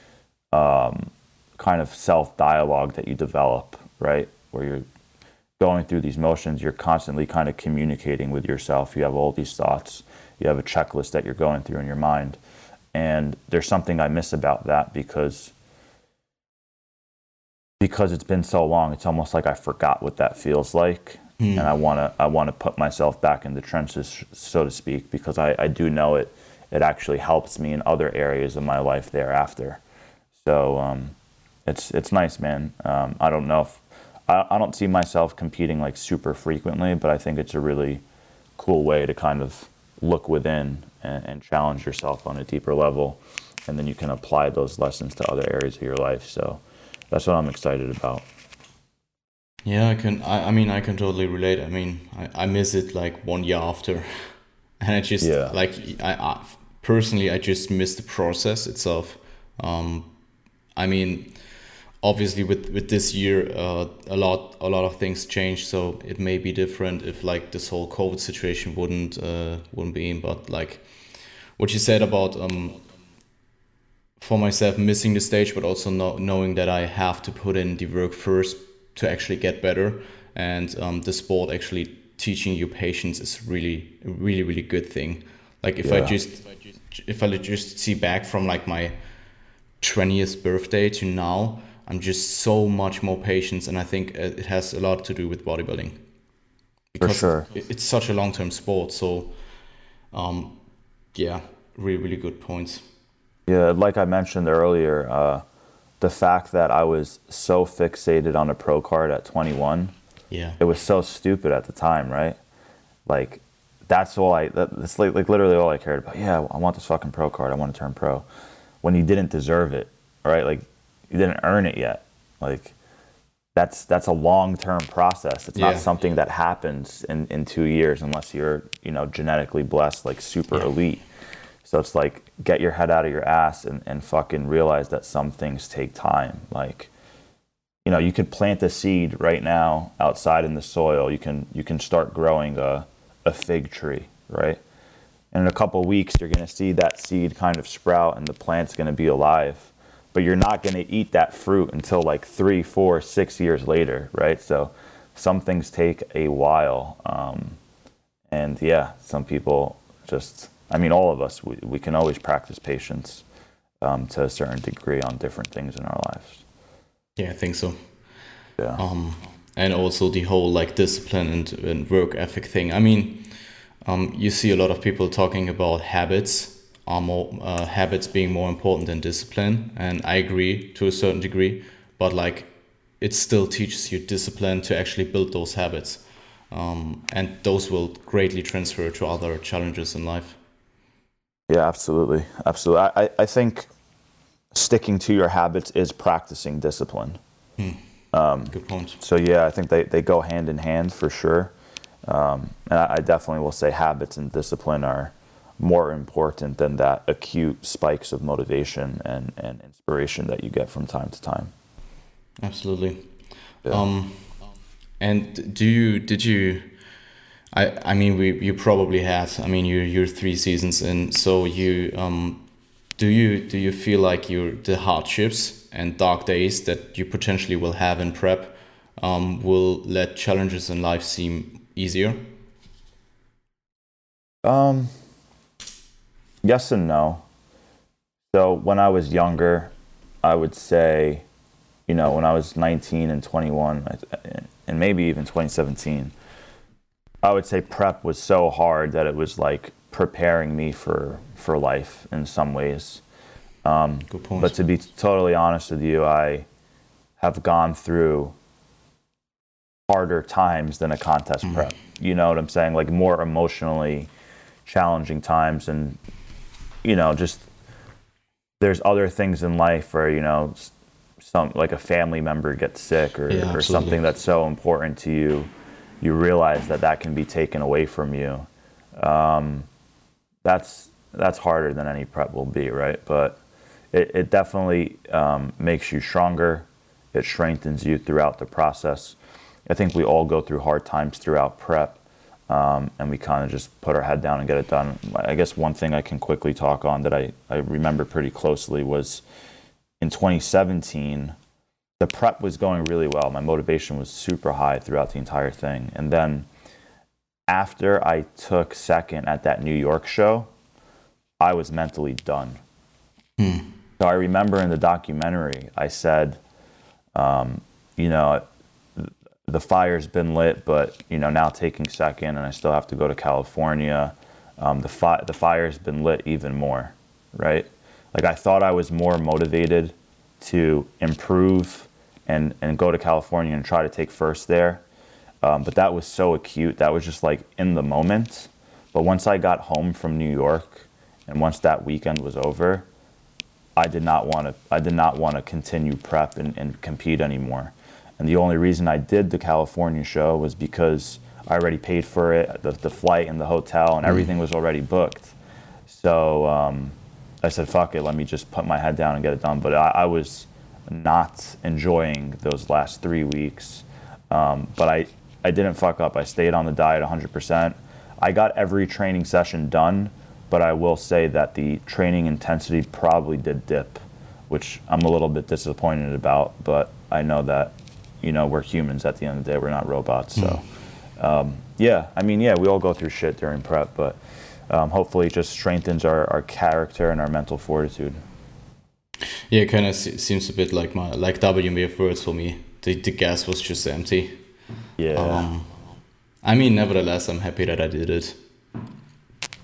kind of self-dialogue that you develop, right? Where you're going through these motions, you're constantly kind of communicating with yourself. You have all these thoughts. You have a checklist that you're going through in your mind. And there's something I miss about that, because it's been so long. It's almost like I forgot what that feels like. And I want to put myself back in the trenches, so to speak, because I do know it actually helps me in other areas of my life thereafter. So it's nice, man. I don't know if I don't see myself competing like super frequently, but I think it's a really cool way to kind of look within and challenge yourself on a deeper level, and then you can apply those lessons to other areas of your life. So that's what I'm excited about. Yeah, I mean, I can totally relate. I mean, I miss it like 1 year after, and I just Yeah. like I personally I just miss the process itself. I mean, obviously with this year, a lot of things changed, so it may be different if like this whole COVID situation wouldn't be in. But like what you said about for myself missing the stage, but also knowing that I have to put in the work first to actually get better, and the sport actually teaching you patience is really good thing. Like if Yeah. I just see back from like my 20th birthday to now, I'm just so much more patient, and I think it has a lot to do with bodybuilding, For because sure. it's such a long-term sport. So yeah, really good points. Yeah, like I mentioned earlier, the fact that I was so fixated on a pro card at 21, Yeah. it was so stupid at the time, right? Like, that's like literally all I cared about. Yeah, I want this fucking pro card. I want to turn pro. When you didn't deserve it, right? Like, you didn't earn it yet. Like, that's a long-term process. It's not Yeah. something that happens in 2 years unless you're, genetically blessed, like super Yeah. elite. So it's like, get your head out of your ass and fucking realize that some things take time. Like, you could plant a seed right now outside in the soil. You can start growing a fig tree, right? And in a couple of weeks, you're going to see that seed kind of sprout and the plant's going to be alive. But you're not going to eat that fruit until like 3, 4, 6 years later, right? So some things take a while. And yeah, some people all of us, we can always practice patience to a certain degree on different things in our lives. Yeah, I think so. Yeah. And also the whole like discipline and work ethic thing. I mean, you see a lot of people talking about habits being more important than discipline, and I agree to a certain degree. But like, it still teaches you discipline to actually build those habits, and those will greatly transfer to other challenges in life. Yeah, absolutely. Absolutely. I think sticking to your habits is practicing discipline. Good point. So yeah, I think they go hand in hand for sure. And I definitely will say habits and discipline are more important than that acute spikes of motivation and inspiration that you get from time to time. Absolutely. Yeah. And did you? I mean, you probably had. I mean, you're 3 seasons in, so do you feel like the hardships and dark days that you potentially will have in prep will let challenges in life seem easier? Yes and no. So when I was younger, I would say, when I was 19 and 21, and maybe even 2017, I would say prep was so hard that it was like preparing me for life in some ways. Good point. But to be totally honest with you, I have gone through harder times than a contest prep. You know what I'm saying? Like more emotionally challenging times, and just there's other things in life where some like a family member gets sick or something that's so important to you. You realize that can be taken away from you. That's harder than any prep will be, right? But it definitely makes you stronger. It strengthens you throughout the process. I think we all go through hard times throughout prep, and we kind of just put our head down and get it done. I guess one thing I can quickly talk on that I remember pretty closely was in 2017, the prep was going really well. My motivation was super high throughout the entire thing. And then after I took second at that New York show, I was mentally done. So I remember in the documentary, I said, the fire's been lit, but now taking second, and I still have to go to California. The fire's been lit even more, right? Like I thought I was more motivated to improve and go to California and try to take first there, but that was so acute. That was just like in the moment. But once I got home from New York, and once that weekend was over, I did not want to continue prep and compete anymore. And the only reason I did the California show was because I already paid for it, the flight and the hotel, and everything was already booked. So I said, fuck it, let me just put my head down and get it done. But I was not enjoying those last 3 weeks. But I didn't fuck up. I stayed on the diet 100%. I got every training session done, but I will say that the training intensity probably did dip, which I'm a little bit disappointed about. But I know that, we're humans at the end of the day. We're not robots. So, we all go through shit during prep, but hopefully it just strengthens our character and our mental fortitude. Yeah, it kind of seems a bit like WMF words for me. The gas was just empty. Yeah. Nevertheless, I'm happy that I did it.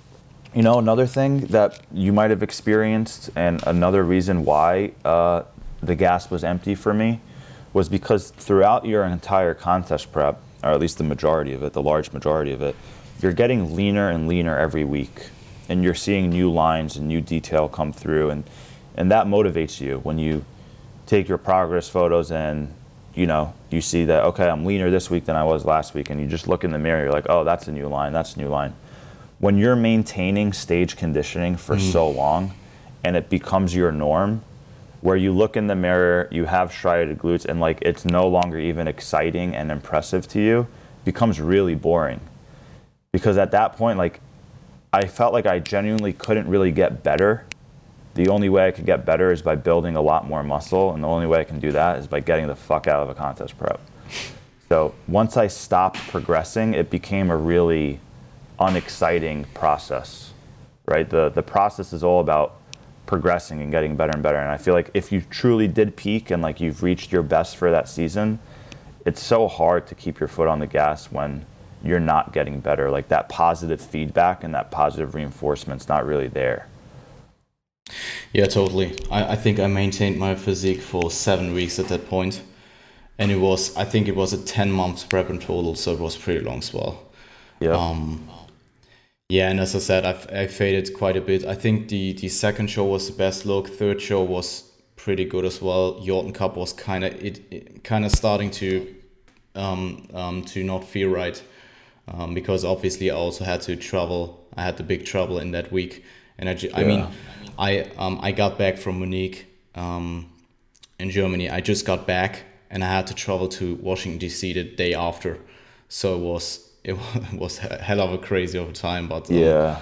You know, another thing that you might have experienced, and another reason why the gas was empty for me, was because throughout your entire contest prep, or at least the majority of it, the large majority of it, you're getting leaner and leaner every week, and you're seeing new lines and new detail come through, and that motivates you when you take your progress photos and you see that, okay, I'm leaner this week than I was last week, and you just look in the mirror, you're like, oh, that's a new line, that's a new line. When you're maintaining stage conditioning for so long and it becomes your norm, where you look in the mirror, you have striated glutes, and like it's no longer even exciting and impressive to you, becomes really boring. Because at that point, like, I felt like I genuinely couldn't really get better. The only way I could get better is by building a lot more muscle, and the only way I can do that is by getting the fuck out of a contest prep. So once I stopped progressing, it became a really unexciting process, right? The process is all about progressing and getting better and better. And I feel like if you truly did peak and like you've reached your best for that season, it's so hard to keep your foot on the gas when you're not getting better. Like that positive feedback and that positive reinforcement's not really there. Yeah, totally. I think I maintained my physique for 7 weeks at that point. And I think it was a 10 months prep in total, so it was pretty long as well. Yeah. Yeah, and as I said, I faded quite a bit. I think the second show was the best look. Third show was pretty good as well. Yorton Cup was kind of starting to not feel right, because obviously I also had to travel. I had the big trouble in that week, and I got back from Munich, in Germany. I just got back, and I had to travel to Washington DC the day after, so it was a hell of a crazy over time, but yeah.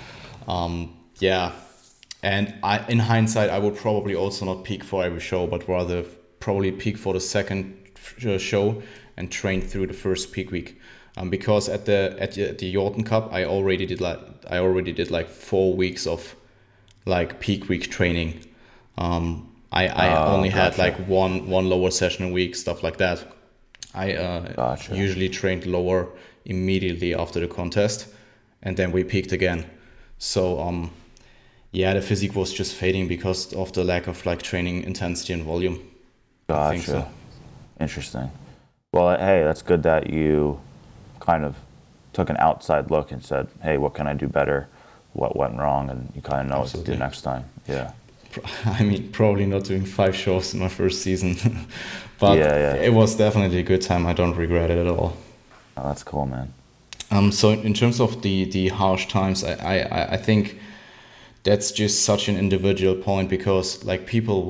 And in hindsight, I would probably also not peak for every show, but rather probably peak for the second show and train through the first peak week, because at the Yorton Cup, I already did like 4 weeks of like peak week training. I only had like one lower session a week, stuff like that. I usually trained lower immediately after the contest, and then we peaked again. So the physique was just fading because of the lack of like training intensity and volume. Gotcha. I think so. Interesting. Well, hey, that's good that you kind of took an outside look and said, hey, what can I do better? What went wrong? And you kind of know Absolutely. What to do next time. Yeah. I mean, probably not doing 5 shows in my first season, but it was definitely a good time. I don't regret it at all. Oh, that's cool, man. So in terms of the harsh times, I think that's just such an individual point, because like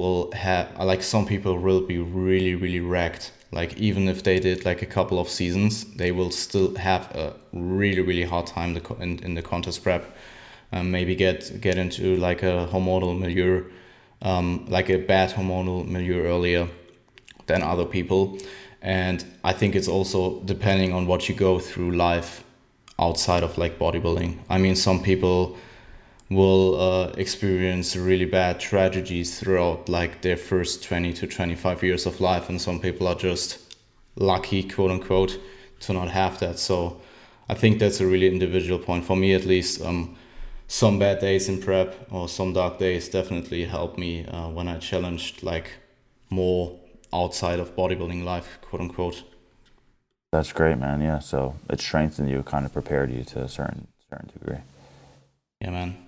some people will be really, really wrecked. Like even if they did like a couple of seasons, they will still have a really, really hard time in the contest prep. Maybe get into like a hormonal milieu, like a bad hormonal milieu earlier than other people. And I think it's also depending on what you go through life outside of like bodybuilding. I mean, some people will experience really bad tragedies throughout like their first 20 to 25 years of life, and some people are just lucky, quote unquote, to not have that. So I think that's a really individual point. For me at least, some bad days in prep or some dark days definitely helped me when I challenged like more outside of bodybuilding life, quote unquote. That's great, man. Yeah, so it strengthened you, kind of prepared you to a certain degree. Yeah, man.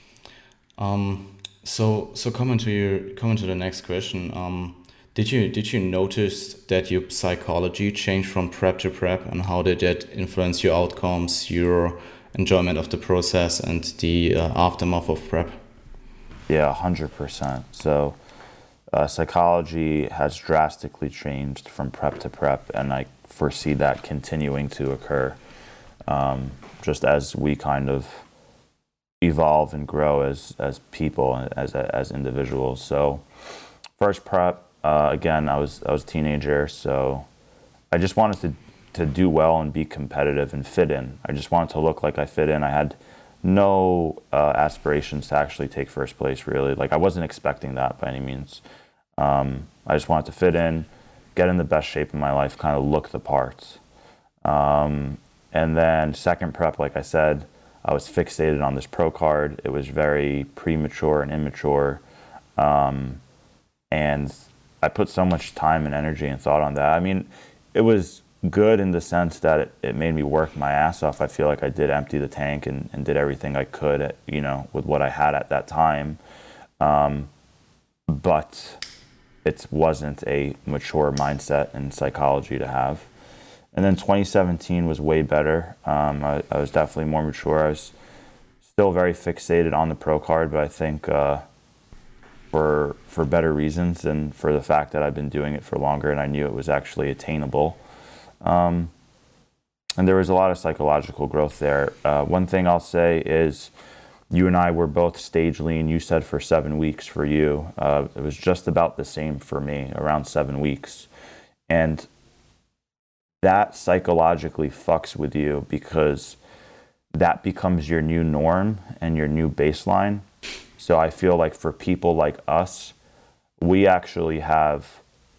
So coming to the next question. Did you notice that your psychology changed from prep to prep, and how did that influence your outcomes, your enjoyment of the process, and the aftermath of prep? Yeah, 100%. So psychology has drastically changed from prep to prep, and I foresee that continuing to occur just as we kind of evolve and grow as people, as individuals. So first prep, again, I was a teenager, so I just wanted to do well and be competitive and fit in. I just wanted to look like I fit in. I had no aspirations to actually take first place, really. Like, I wasn't expecting that by any means. I just wanted to fit in, get in the best shape of my life, kind of look the parts. And then second prep, like I said, I was fixated on this pro card. It was very premature and immature. And I put so much time and energy and thought on that. I mean, it was good in the sense that it made me work my ass off. I feel like I did empty the tank and did everything I could, with what I had at that time. But it wasn't a mature mindset and psychology to have. And then 2017 was way better. I was definitely more mature. I was still very fixated on the pro card, but I think for better reasons and for the fact that I've been doing it for longer and I knew it was actually attainable. And there was a lot of psychological growth there. One thing I'll say is you and I were both stage lean. You said for 7 weeks for you. It was just about the same for me, around 7 weeks. And that psychologically fucks with you because that becomes your new norm and your new baseline. So I feel like for people like us, we actually have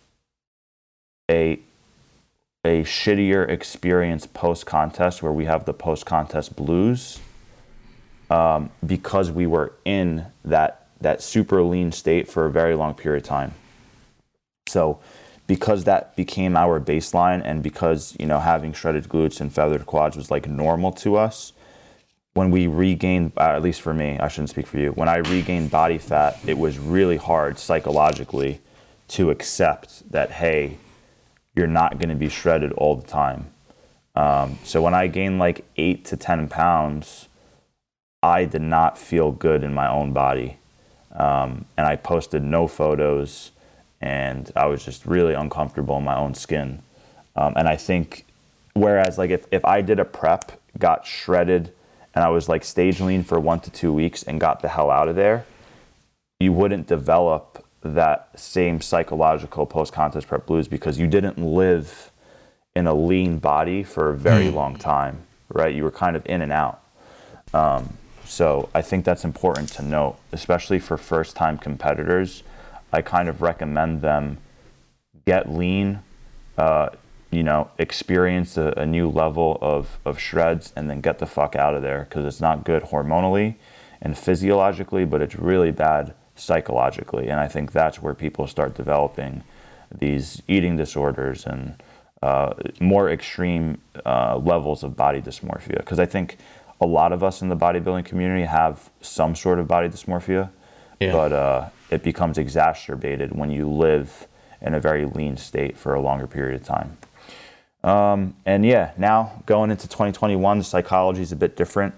a shittier experience post-contest where we have the post-contest blues because we were in that super lean state for a very long period of time. So because that became our baseline and because, having shredded glutes and feathered quads was like normal to us, when we regained, at least for me, I shouldn't speak for you, when I regained body fat, it was really hard psychologically to accept that, hey, you're not going to be shredded all the time. So when I gained like 8 to 10 pounds, I did not feel good in my own body. And I posted no photos and I was just really uncomfortable in my own skin. And I think, whereas like if I did a prep, got shredded, and I was like stage lean for 1 to 2 weeks and got the hell out of there, you wouldn't develop that same psychological post-contest prep blues because you didn't live in a lean body for a very long time, right? You were kind of in and out. So I think that's important to note, especially for first-time competitors. I kind of recommend them get lean, experience a new level of shreds and then get the fuck out of there because it's not good hormonally and physiologically, but it's really bad psychologically. And I think that's where people start developing these eating disorders and more extreme levels of body dysmorphia. Because I think a lot of us in the bodybuilding community have some sort of body dysmorphia, but it becomes exacerbated when you live in a very lean state for a longer period of time. Now going into 2021, the psychology is a bit different.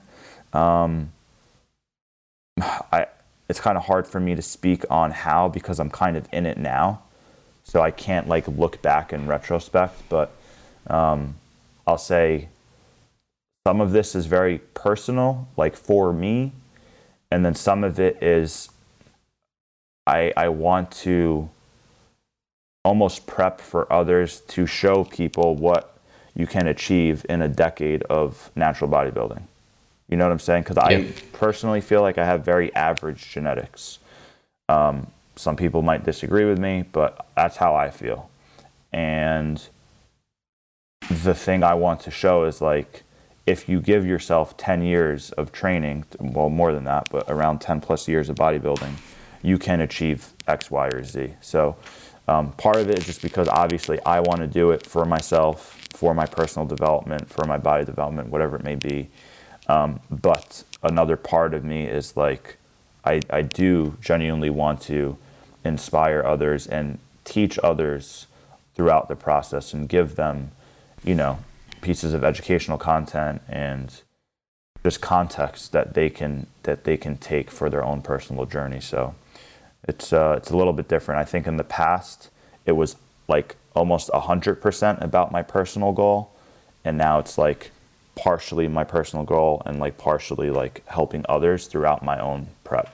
It's kind of hard for me to speak on how because I'm kind of in it now. So I can't like look back in retrospect, but I'll say some of this is very personal, like for me. And then some of it is I want to almost prep for others to show people what you can achieve in a decade of natural bodybuilding. You know what I'm saying? Because I personally feel like I have very average genetics. Some people might disagree with me, but that's how I feel. And the thing I want to show is like, if you give yourself 10 years of training, well, more than that, but around 10 plus years of bodybuilding, you can achieve X, Y, or Z. So part of it is just because obviously I want to do it for myself, for my personal development, for my body development, whatever it may be. But another part of me is like, I do genuinely want to inspire others and teach others throughout the process and give them, pieces of educational content and just context that they can take for their own personal journey. So it's a little bit different. I think in the past it was like almost 100% about my personal goal, and now it's like partially my personal goal and like partially like helping others throughout my own prep.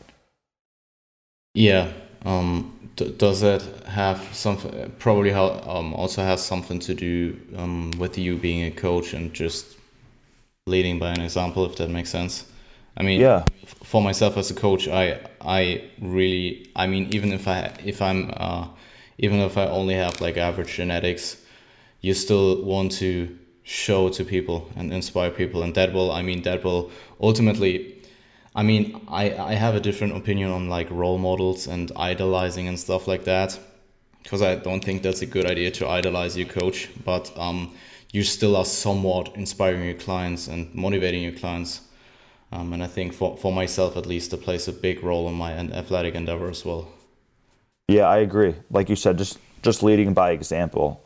Yeah. Does that have something? Probably also has something to do with you being a coach and just leading by an example, if that makes sense. I mean, for myself as a coach, I really, I mean, even if I only have like average genetics, you still want to show to people and inspire people, and that will ultimately. I mean, I have a different opinion on like role models and idolizing and stuff like that, because I don't think that's a good idea to idolize your coach, but you still are somewhat inspiring your clients and motivating your clients. And I think for myself at least, it plays a big role in my athletic endeavor as well. Yeah, I agree. Like you said, just leading by example.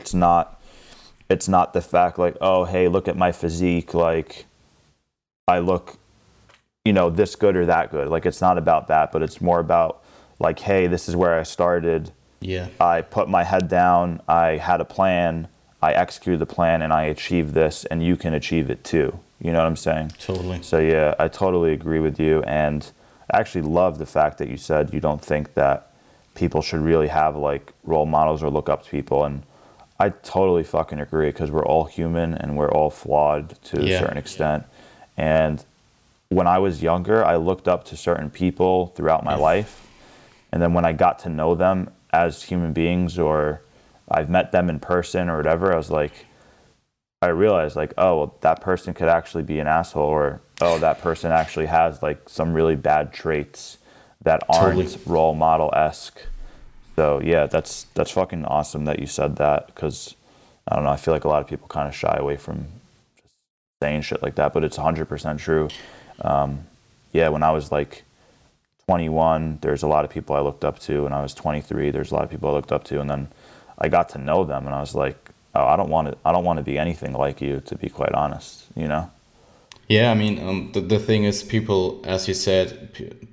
It's not the fact like, oh, hey, look at my physique, like I look, this good or that good. Like it's not about that, but it's more about like, hey, this is where I started. Yeah. I put my head down, I had a plan, I executed the plan, and I achieved this, and you can achieve it too. You know what I'm saying? Totally. So yeah, I totally agree with you, and I actually love the fact that you said you don't think that people should really have like role models or look up to people, and I totally fucking agree, because we're all human and we're all flawed to a certain extent. And when I was younger, I looked up to certain people throughout my life, and then when I got to know them as human beings, or I've met them in person or whatever, I realized like, oh, well, that person could actually be an asshole, or oh, that person actually has like some really bad traits that aren't role model-esque. So yeah, that's fucking awesome that you said that, because I don't know, I feel like a lot of people kind of shy away from just saying shit like that, but it's 100% true. Yeah, when I was like 21, there's a lot of people I looked up to. When I was 23, there's a lot of people I looked up to, and then I got to know them, and I was like, oh, I don't want to be anything like you, to be quite honest, Yeah, I mean, the thing is, people, as you said,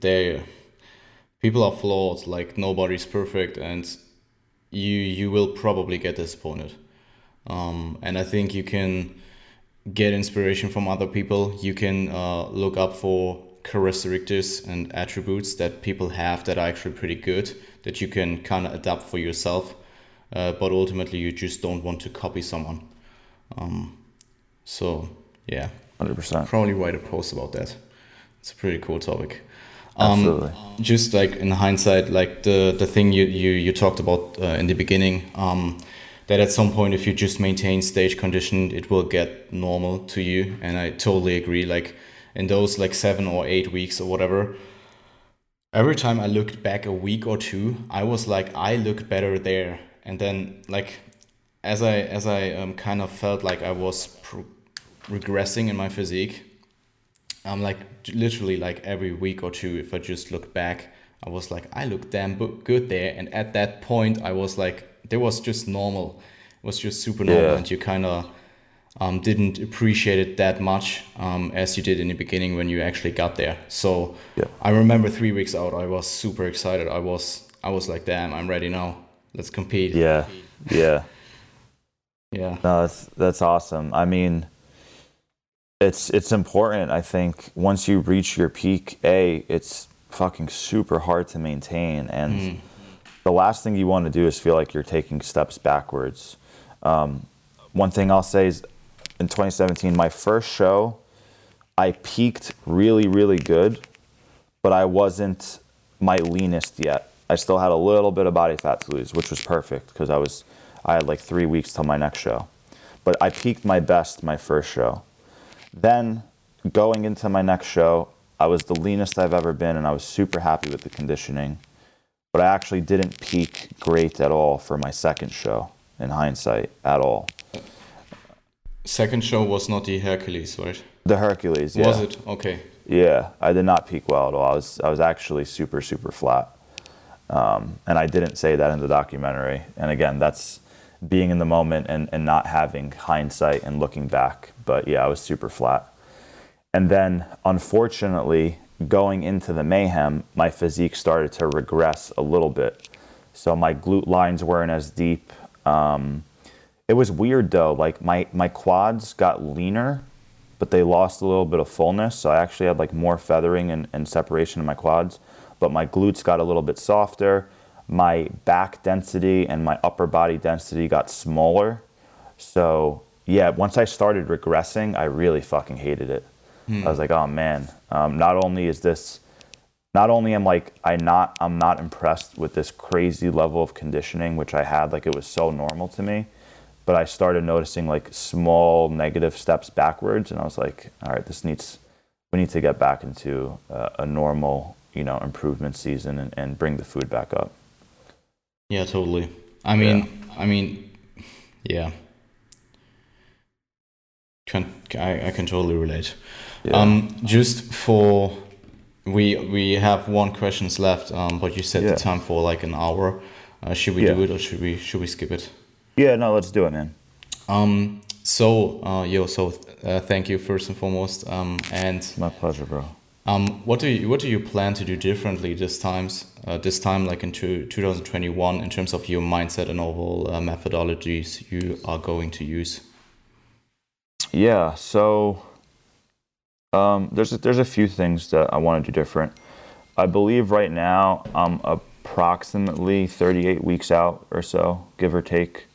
people are flawed. Like nobody's perfect, and you will probably get disappointed. And I think you can get inspiration from other people. You can look up for characteristics and attributes that people have that are actually pretty good, that you can kind of adapt for yourself. But ultimately, you just don't want to copy someone. So yeah, 100%. probably write a post about that. It's a pretty cool topic. Absolutely. Just like in hindsight, like the thing you talked about in the beginning, that at some point, if you just maintain stage condition, it will get normal to you. And I totally agree. Like in those like 7 or 8 weeks or whatever, every time I looked back a week or two, I was like, I looked better there. And then like as I kind of felt like I was regressing in my physique, I'm like literally like every week or two, if I just look back, I was like, I look damn good there. And at that point, I was like, there was just normal. It was just super normal, and you kind of didn't appreciate it that much as you did in the beginning when you actually got there. So I remember 3 weeks out, I was super excited. I was like, damn, I'm ready now. Let's compete. Yeah. No, that's awesome. I mean, it's important. I think once you reach your peak, it's fucking super hard to maintain, and the last thing you want to do is feel like you're taking steps backwards. One thing I'll say is, in 2017, my first show, I peaked really, really good, but I wasn't my leanest yet. I still had a little bit of body fat to lose, which was perfect, because I had like 3 weeks till my next show. But I peaked my best my first show. Then going into my next show, I was the leanest I've ever been, and I was super happy with the conditioning. But I actually didn't peak great at all for my second show, in hindsight, at all. Second show was not the Hercules, right? The Hercules, yeah. Was it? Okay. Yeah, I did not peak well at all. I was actually super, super flat. And I didn't say that in the documentary. And again, that's being in the moment and not having hindsight and looking back. But yeah, I was super flat. And then, unfortunately, going into the Mayhem, my physique started to regress a little bit. So my glute lines weren't as deep. It was weird though, like my quads got leaner, but they lost a little bit of fullness. So I actually had like more feathering and separation in my quads, but my glutes got a little bit softer. My back density and my upper body density got smaller. So yeah, once I started regressing, I really fucking hated it. I was like, oh man, not only am I'm not impressed with this crazy level of conditioning, which I had, like it was so normal to me, but I started noticing like small negative steps backwards, and I was like, all right, we need to get back into a normal, improvement season and bring the food back up. Yeah, totally. I mean, yeah, I can totally relate. Yeah. Just for we have one questions left, but you set the Yeah. time for like an hour. Should we Yeah. do it or should we skip it? Yeah, no, let's do it, man. Thank you first and foremost. And My pleasure, bro. what do you plan to do differently this time like in 2021 in terms of your mindset and overall methodologies you are going to use? Yeah, so there's a few things that I want to do different. I believe right now I'm approximately 38 weeks out or so, give or take.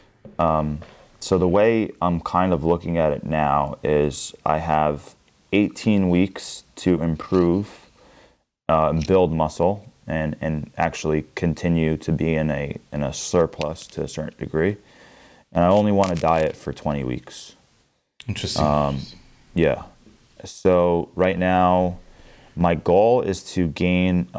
So the way I'm kind of looking at it now is I have 18 weeks to improve, build muscle, and actually continue to be in a surplus to a certain degree. And I only want to diet for 20 weeks. Interesting. Yeah. So right now, my goal is to gain.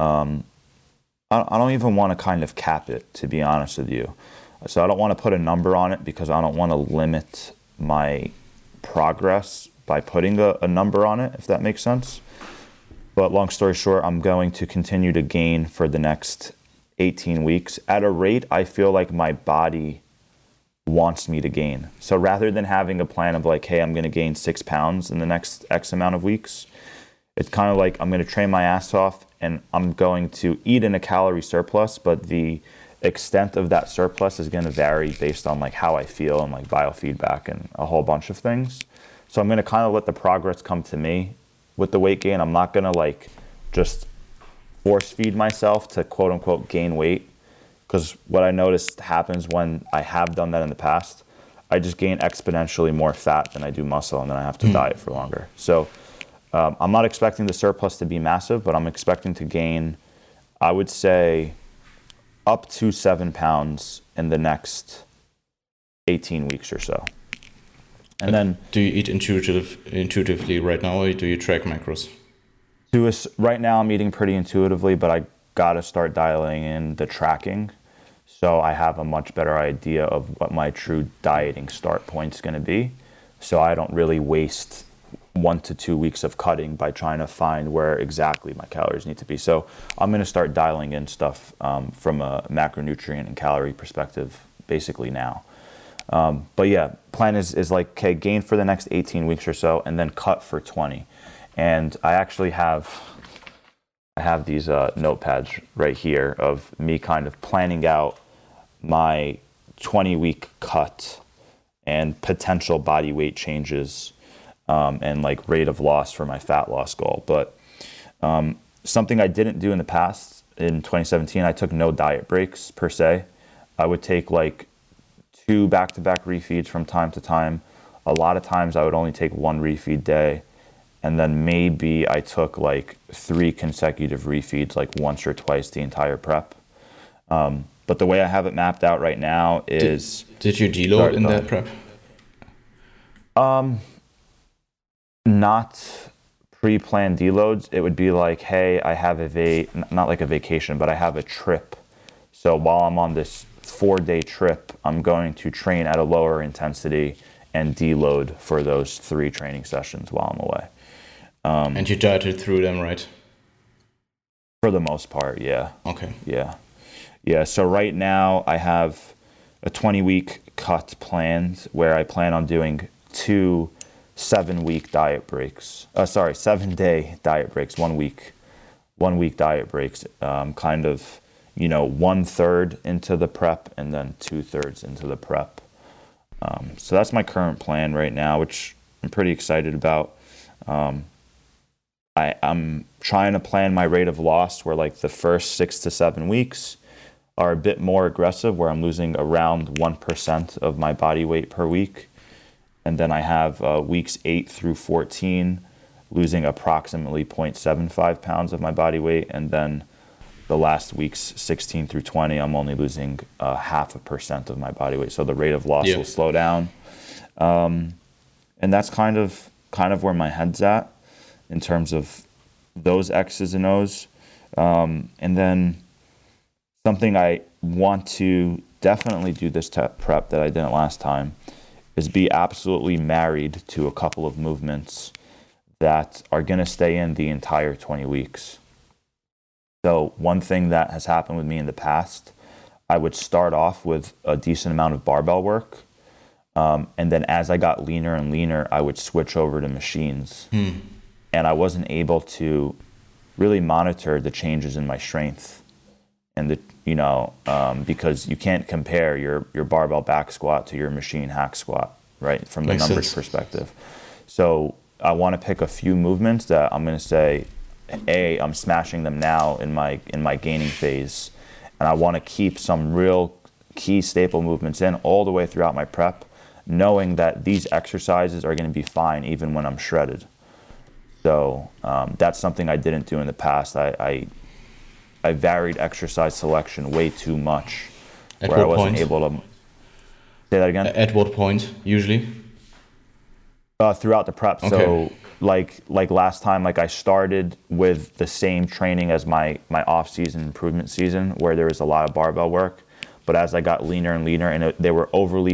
I don't even want to kind of cap it, to be honest with you. So I don't want to put a number on it because I don't want to limit my progress by putting a number on it, if that makes sense. But long story short, I'm going to continue to gain for the next 18 weeks at a rate I feel like my body wants me to gain. So rather than having a plan of like, hey, I'm going to gain 6 pounds in the next X amount of weeks, it's kind of like I'm going to train my ass off and I'm going to eat in a calorie surplus, but the extent of that surplus is going to vary based on like how I feel and like biofeedback and a whole bunch of things. So I'm going to kind of let the progress come to me with the weight gain. I'm not going to like just force feed myself to quote unquote gain weight, because what I noticed happens when I have done that in the past, I just gain exponentially more fat than I do muscle, and then I have to diet for longer. So I'm not expecting the surplus to be massive, but I'm expecting to gain, I would say, up to 7 pounds in the next 18 weeks or so. And then, do you eat intuitively right now, or do you track macros? right now I'm eating pretty intuitively, but I gotta start dialing in the tracking, so I have a much better idea of what my true dieting start point's gonna be, so I don't really waste 1 to 2 weeks of cutting by trying to find where exactly my calories need to be. So I'm going to start dialing in stuff from a macronutrient and calorie perspective basically now. But yeah, plan is like, okay, gain for the next 18 weeks or so and then cut for 20. And I actually have these notepads right here of me kind of planning out my 20-week cut and potential body weight changes, and like rate of loss for my fat loss goal. But something I didn't do in the past, in 2017, I took no diet breaks per se. I would take like 2 back-to-back refeeds from time to time. A lot of times I would only take 1 refeed day. And then maybe I took like 3 consecutive refeeds, like once or twice the entire prep. But the way I have it mapped out right now is... Did you deload in that prep? Not pre-planned deloads. It would be like, hey, I have not like a vacation, but I have a trip. So while I'm on this 4-day trip, I'm going to train at a lower intensity and deload for those 3 training sessions while I'm away. And you dieted through them, right? For the most part, yeah. Okay. Yeah. So right now I have a 20-week cut planned where I plan on doing 2 7-week diet breaks. 7-day diet breaks, 1 week. 1 week diet breaks, kind of, 1/3 into the prep and then 2/3 into the prep. So that's my current plan right now, which I'm pretty excited about. I'm trying to plan my rate of loss where like the first 6 to 7 weeks are a bit more aggressive, where I'm losing around 1% of my body weight per week. And then I have weeks 8 through 14 losing approximately 0.75 pounds of my body weight. And then the last weeks 16 through 20, I'm only losing 0.5% of my body weight. So the rate of loss will slow down. And that's kind of where my head's at in terms of those X's and O's. And then something I want to definitely do this prep that I didn't last time is be absolutely married to a couple of movements that are going to stay in the entire 20 weeks. So one thing that has happened with me in the past, I would start off with a decent amount of barbell work. And then as I got leaner and leaner, I would switch over to machines. And I wasn't able to really monitor the changes in my strength. And because you can't compare your barbell back squat to your machine hack squat, right? From the numbers perspective. So I want to pick a few movements that I'm going to say, I'm smashing them now in my gaining phase, and I want to keep some real key staple movements in all the way throughout my prep, knowing that these exercises are going to be fine even when I'm shredded. So that's something I didn't do in the past. I varied exercise selection way too much, where I wasn't able to. Say that again. At what point usually? Throughout the prep. Okay. So like last time, I started with the same training as my off-season improvement season, where there was a lot of barbell work. But as I got leaner and leaner, and they were overly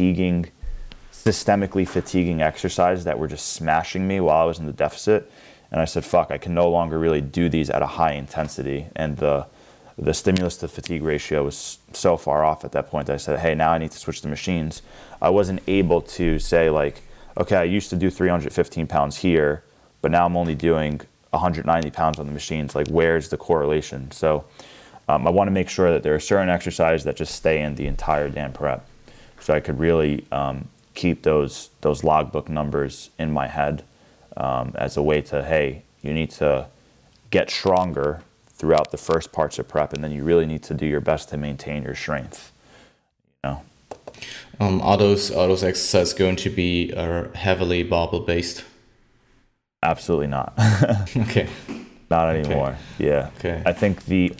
systemically fatiguing exercises that were just smashing me while I was in the deficit. And I said, fuck, I can no longer really do these at a high intensity. And the stimulus to fatigue ratio was so far off at that point that I said, hey, now I need to switch to machines. I wasn't able to say okay, I used to do 315 pounds here, but now I'm only doing 190 pounds on the machines. Where's the correlation? So I want to make sure that there are certain exercises that just stay in the entire damn prep. So I could really keep those logbook numbers in my head as a way to, hey, you need to get stronger throughout the first parts of prep, and then you really need to do your best to maintain your strength. Are those exercises going to be heavily barbell based? Absolutely not. Okay. Not anymore. Okay. Yeah. Okay. I think the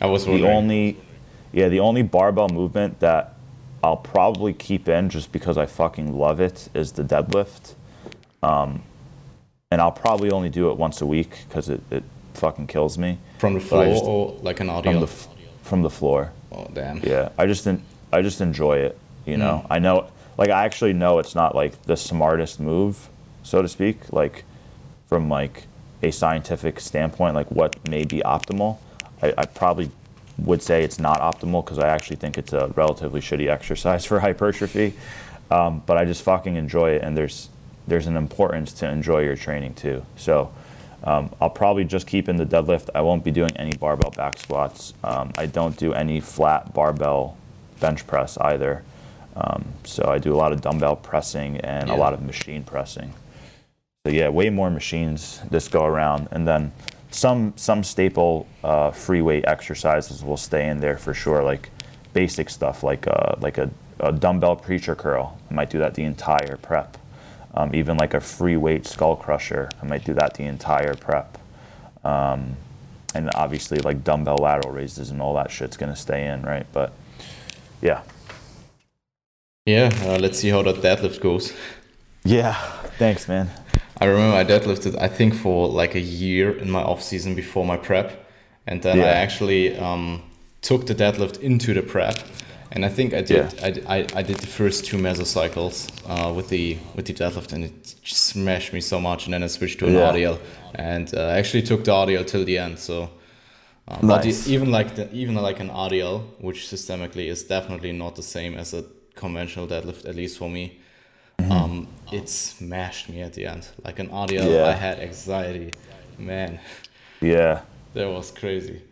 only barbell movement that I'll probably keep in just because I fucking love it is the deadlift. And I'll probably only do it once a week because it fucking kills me. From the floor or like an audio? From the floor. Oh damn. Yeah. I just enjoy it. I know, I actually know it's not the smartest move, so to speak, from a scientific standpoint, what may be optimal. I probably would say it's not optimal because I actually think it's a relatively shitty exercise for hypertrophy. But I just fucking enjoy it, and there's an importance to enjoy your training too. So I'll probably just keep in the deadlift. I won't be doing any barbell back squats. I don't do any flat barbell bench press either. So I do a lot of dumbbell pressing and a lot of machine pressing. So yeah, way more machines this go around, and then some staple free weight exercises will stay in there for sure, basic stuff like a dumbbell preacher curl. I might do that the entire prep. Even a free weight skull crusher, I might do that the entire prep. And obviously dumbbell lateral raises and all that shit's gonna stay in, right? But yeah. Yeah, let's see how that deadlift goes. Yeah, thanks, man. I remember I deadlifted, I think, for a year in my off season before my prep, and then I actually took the deadlift into the prep, and I think I did. Yeah. I did the first 2 mesocycles with the deadlift, and it just smashed me so much. And then I switched to an RDL, and I actually took the RDL till the end. So, nice. But even an RDL, which systemically is definitely not the same as a conventional deadlift, at least for me, it smashed me at the end. An RDL, I had anxiety, man. Yeah, that was crazy.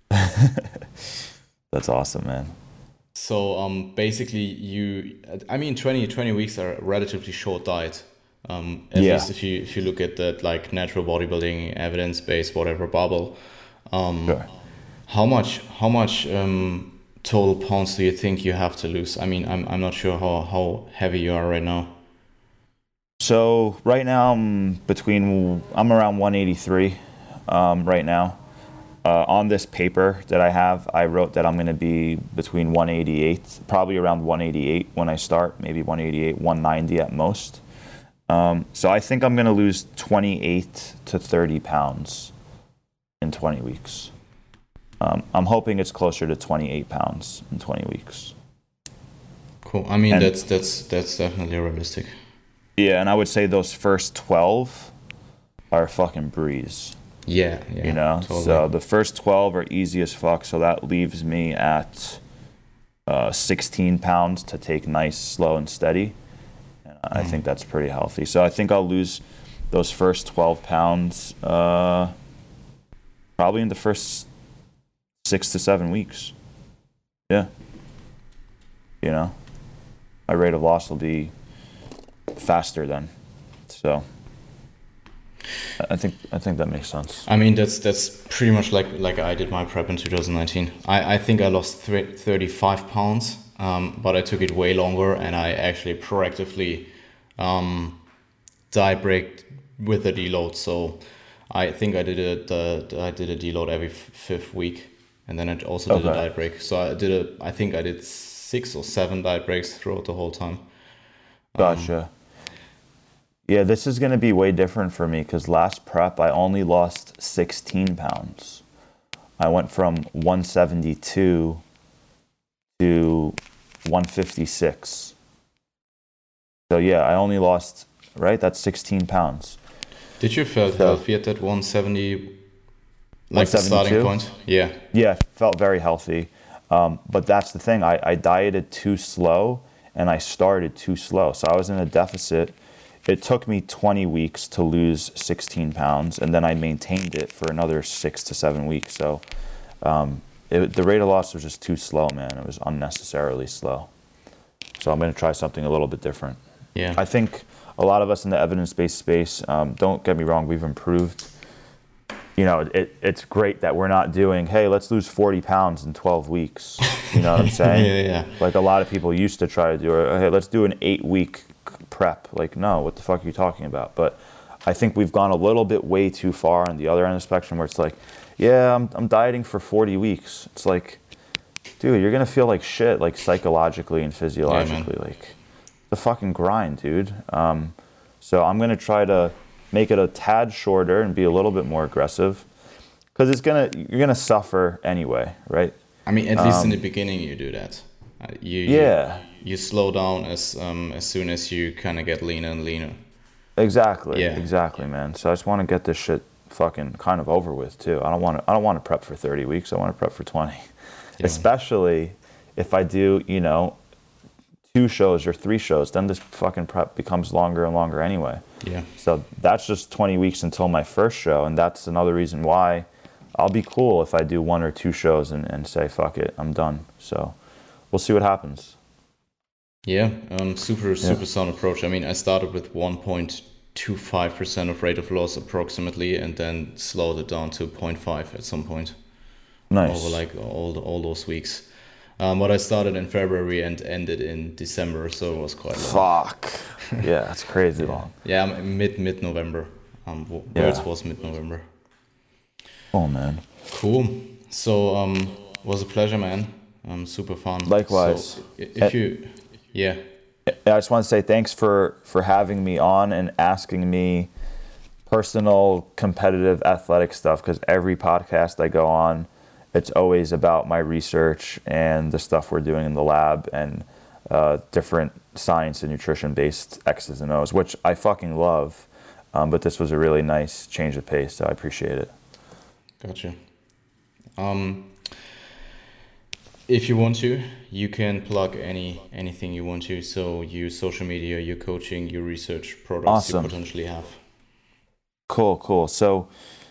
That's awesome, man. So basically 20 weeks are a relatively short diet, at least if you look at that natural bodybuilding, evidence-based, whatever bubble. Sure. How much total pounds do you think you have to lose? I'm not sure how heavy you are right now. So right now I'm around 183 right now. On this paper that I have, I wrote that I'm going to be between 188, probably around 188 when I start, maybe 188, 190 at most. So I think I'm going to lose 28 to 30 pounds in 20 weeks. I'm hoping it's closer to 28 pounds in 20 weeks. Cool. I mean, that's definitely realistic. Yeah, and I would say those first 12 are a fucking breeze. Yeah, you know, totally. So the first 12 are easy as fuck. So that leaves me at 16 pounds to take nice, slow, and steady. And I think that's pretty healthy. So I think I'll lose those first 12 pounds probably in the first 6 to 7 weeks. Yeah. You know, my rate of loss will be faster then. So I think that makes sense. I mean, that's pretty much like I did my prep in 2019. I think I lost 35 pounds, but I took it way longer, and I actually proactively diet break with a deload. So I think I did a deload every fifth week, and then I also did a diet break. So I think I did 6 or 7 diet breaks throughout the whole time. Gotcha. Yeah, this is going to be way different for me because last prep I only lost 16 pounds. I went from 172 to 156. So yeah, I only lost, right? That's 16 pounds. Did you feel healthy at that 170, like the starting point? Yeah. Yeah, felt very healthy. But that's the thing. I dieted too slow and I started too slow. So I was in a deficit. It took me 20 weeks to lose 16 pounds, and then I maintained it for another 6 to 7 weeks. So the rate of loss was just too slow, man. It was unnecessarily slow. So I'm going to try something a little bit different. Yeah. I think a lot of us in the evidence-based space, don't get me wrong, we've improved. You know, it's great that we're not doing, hey, let's lose 40 pounds in 12 weeks. You know what I'm saying? Yeah. Like a lot of people used to try to do, hey, let's do an 8-week prep. Like, no, what the fuck are you talking about? But I think we've gone a little bit way too far on the other end of the spectrum where it's like, yeah, I'm dieting for 40 weeks. It's like, dude, you're going to feel like shit, like psychologically and physiologically. Yeah, like, the fucking grind, dude. So I'm going to try to make it a tad shorter and be a little bit more aggressive because you're going to suffer anyway, right? I mean, at least in the beginning you do that. You slow down as soon as you kind of get leaner and leaner. Exactly, man. So I just want to get this shit fucking kind of over with too. I don't want to prep for 30 weeks. I want to prep for 20. Yeah. Especially if I do, 2 shows or 3 shows, then this fucking prep becomes longer and longer anyway. Yeah. So that's just 20 weeks until my first show, and that's another reason why I'll be cool if I do 1 or 2 shows and say fuck it, I'm done. So we'll see what happens. Yeah, super sound approach. I mean, I started with 1.25% of rate of loss approximately, and then slowed it down to 0.5 at some point. Nice. Over like all those weeks. But I started in February and ended in December, so it was quite long. Fuck. Yeah, that's crazy long. Yeah, mid-November. Words was mid-November. Oh man. Cool. So was a pleasure, man. Super fun. Likewise. So if you. Yeah. I just want to say thanks for having me on and asking me personal, competitive, athletic stuff, because every podcast I go on, it's always about my research and the stuff we're doing in the lab and different science and nutrition-based X's and O's, which I fucking love. But this was a really nice change of pace, so I appreciate it. Gotcha. If you want to, you can plug anything you want to. So your social media, your coaching, your research products Awesome. You potentially have. Cool. So,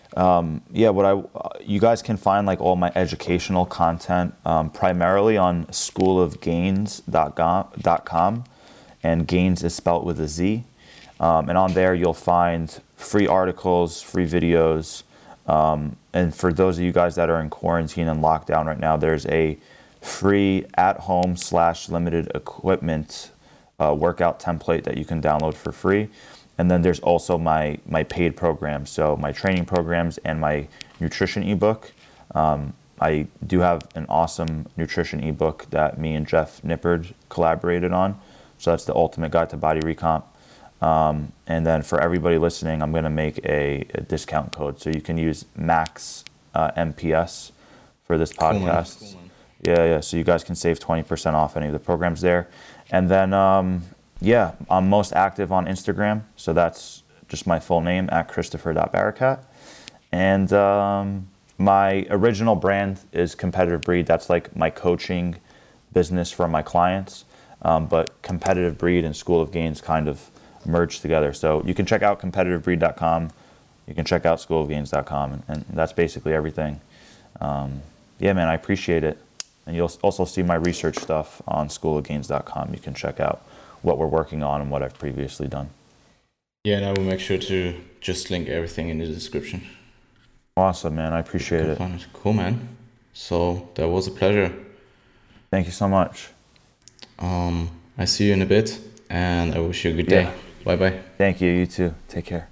you guys can find like all my educational content primarily on schoolofgains.com, and Gains is spelt with a Z. And on there you'll find free articles, free videos. And for those of you guys that are in quarantine and lockdown right now, there's a free at-home / limited equipment workout template that you can download for free. And then there's also my paid programs, so my training programs and my nutrition ebook. I do have an awesome nutrition ebook that me and Jeff Nippard collaborated on. So that's the Ultimate Guide to Body Recomp. And then for everybody listening, I'm going to make a discount code. So you can use Max MPS for this podcast. Cool, man. Yeah. So you guys can save 20% off any of the programs there. And then, I'm most active on Instagram. So that's just my full name at Christopher.Barakat. And my original brand is Competitive Breed. That's like my coaching business for my clients. But Competitive Breed and School of Gains kind of merged together. So you can check out competitivebreed.com. You can check out schoolofgains.com. And that's basically everything. Man, I appreciate it. And you'll also see my research stuff on schoolofgains.com. You can check out what we're working on and what I've previously done. Yeah, and I will make sure to just link everything in the description. Awesome, man. I appreciate it. Cool, man. So that was a pleasure. Thank you so much. I see you in a bit, and I wish you a good day. Bye-bye. Thank you. You too. Take care.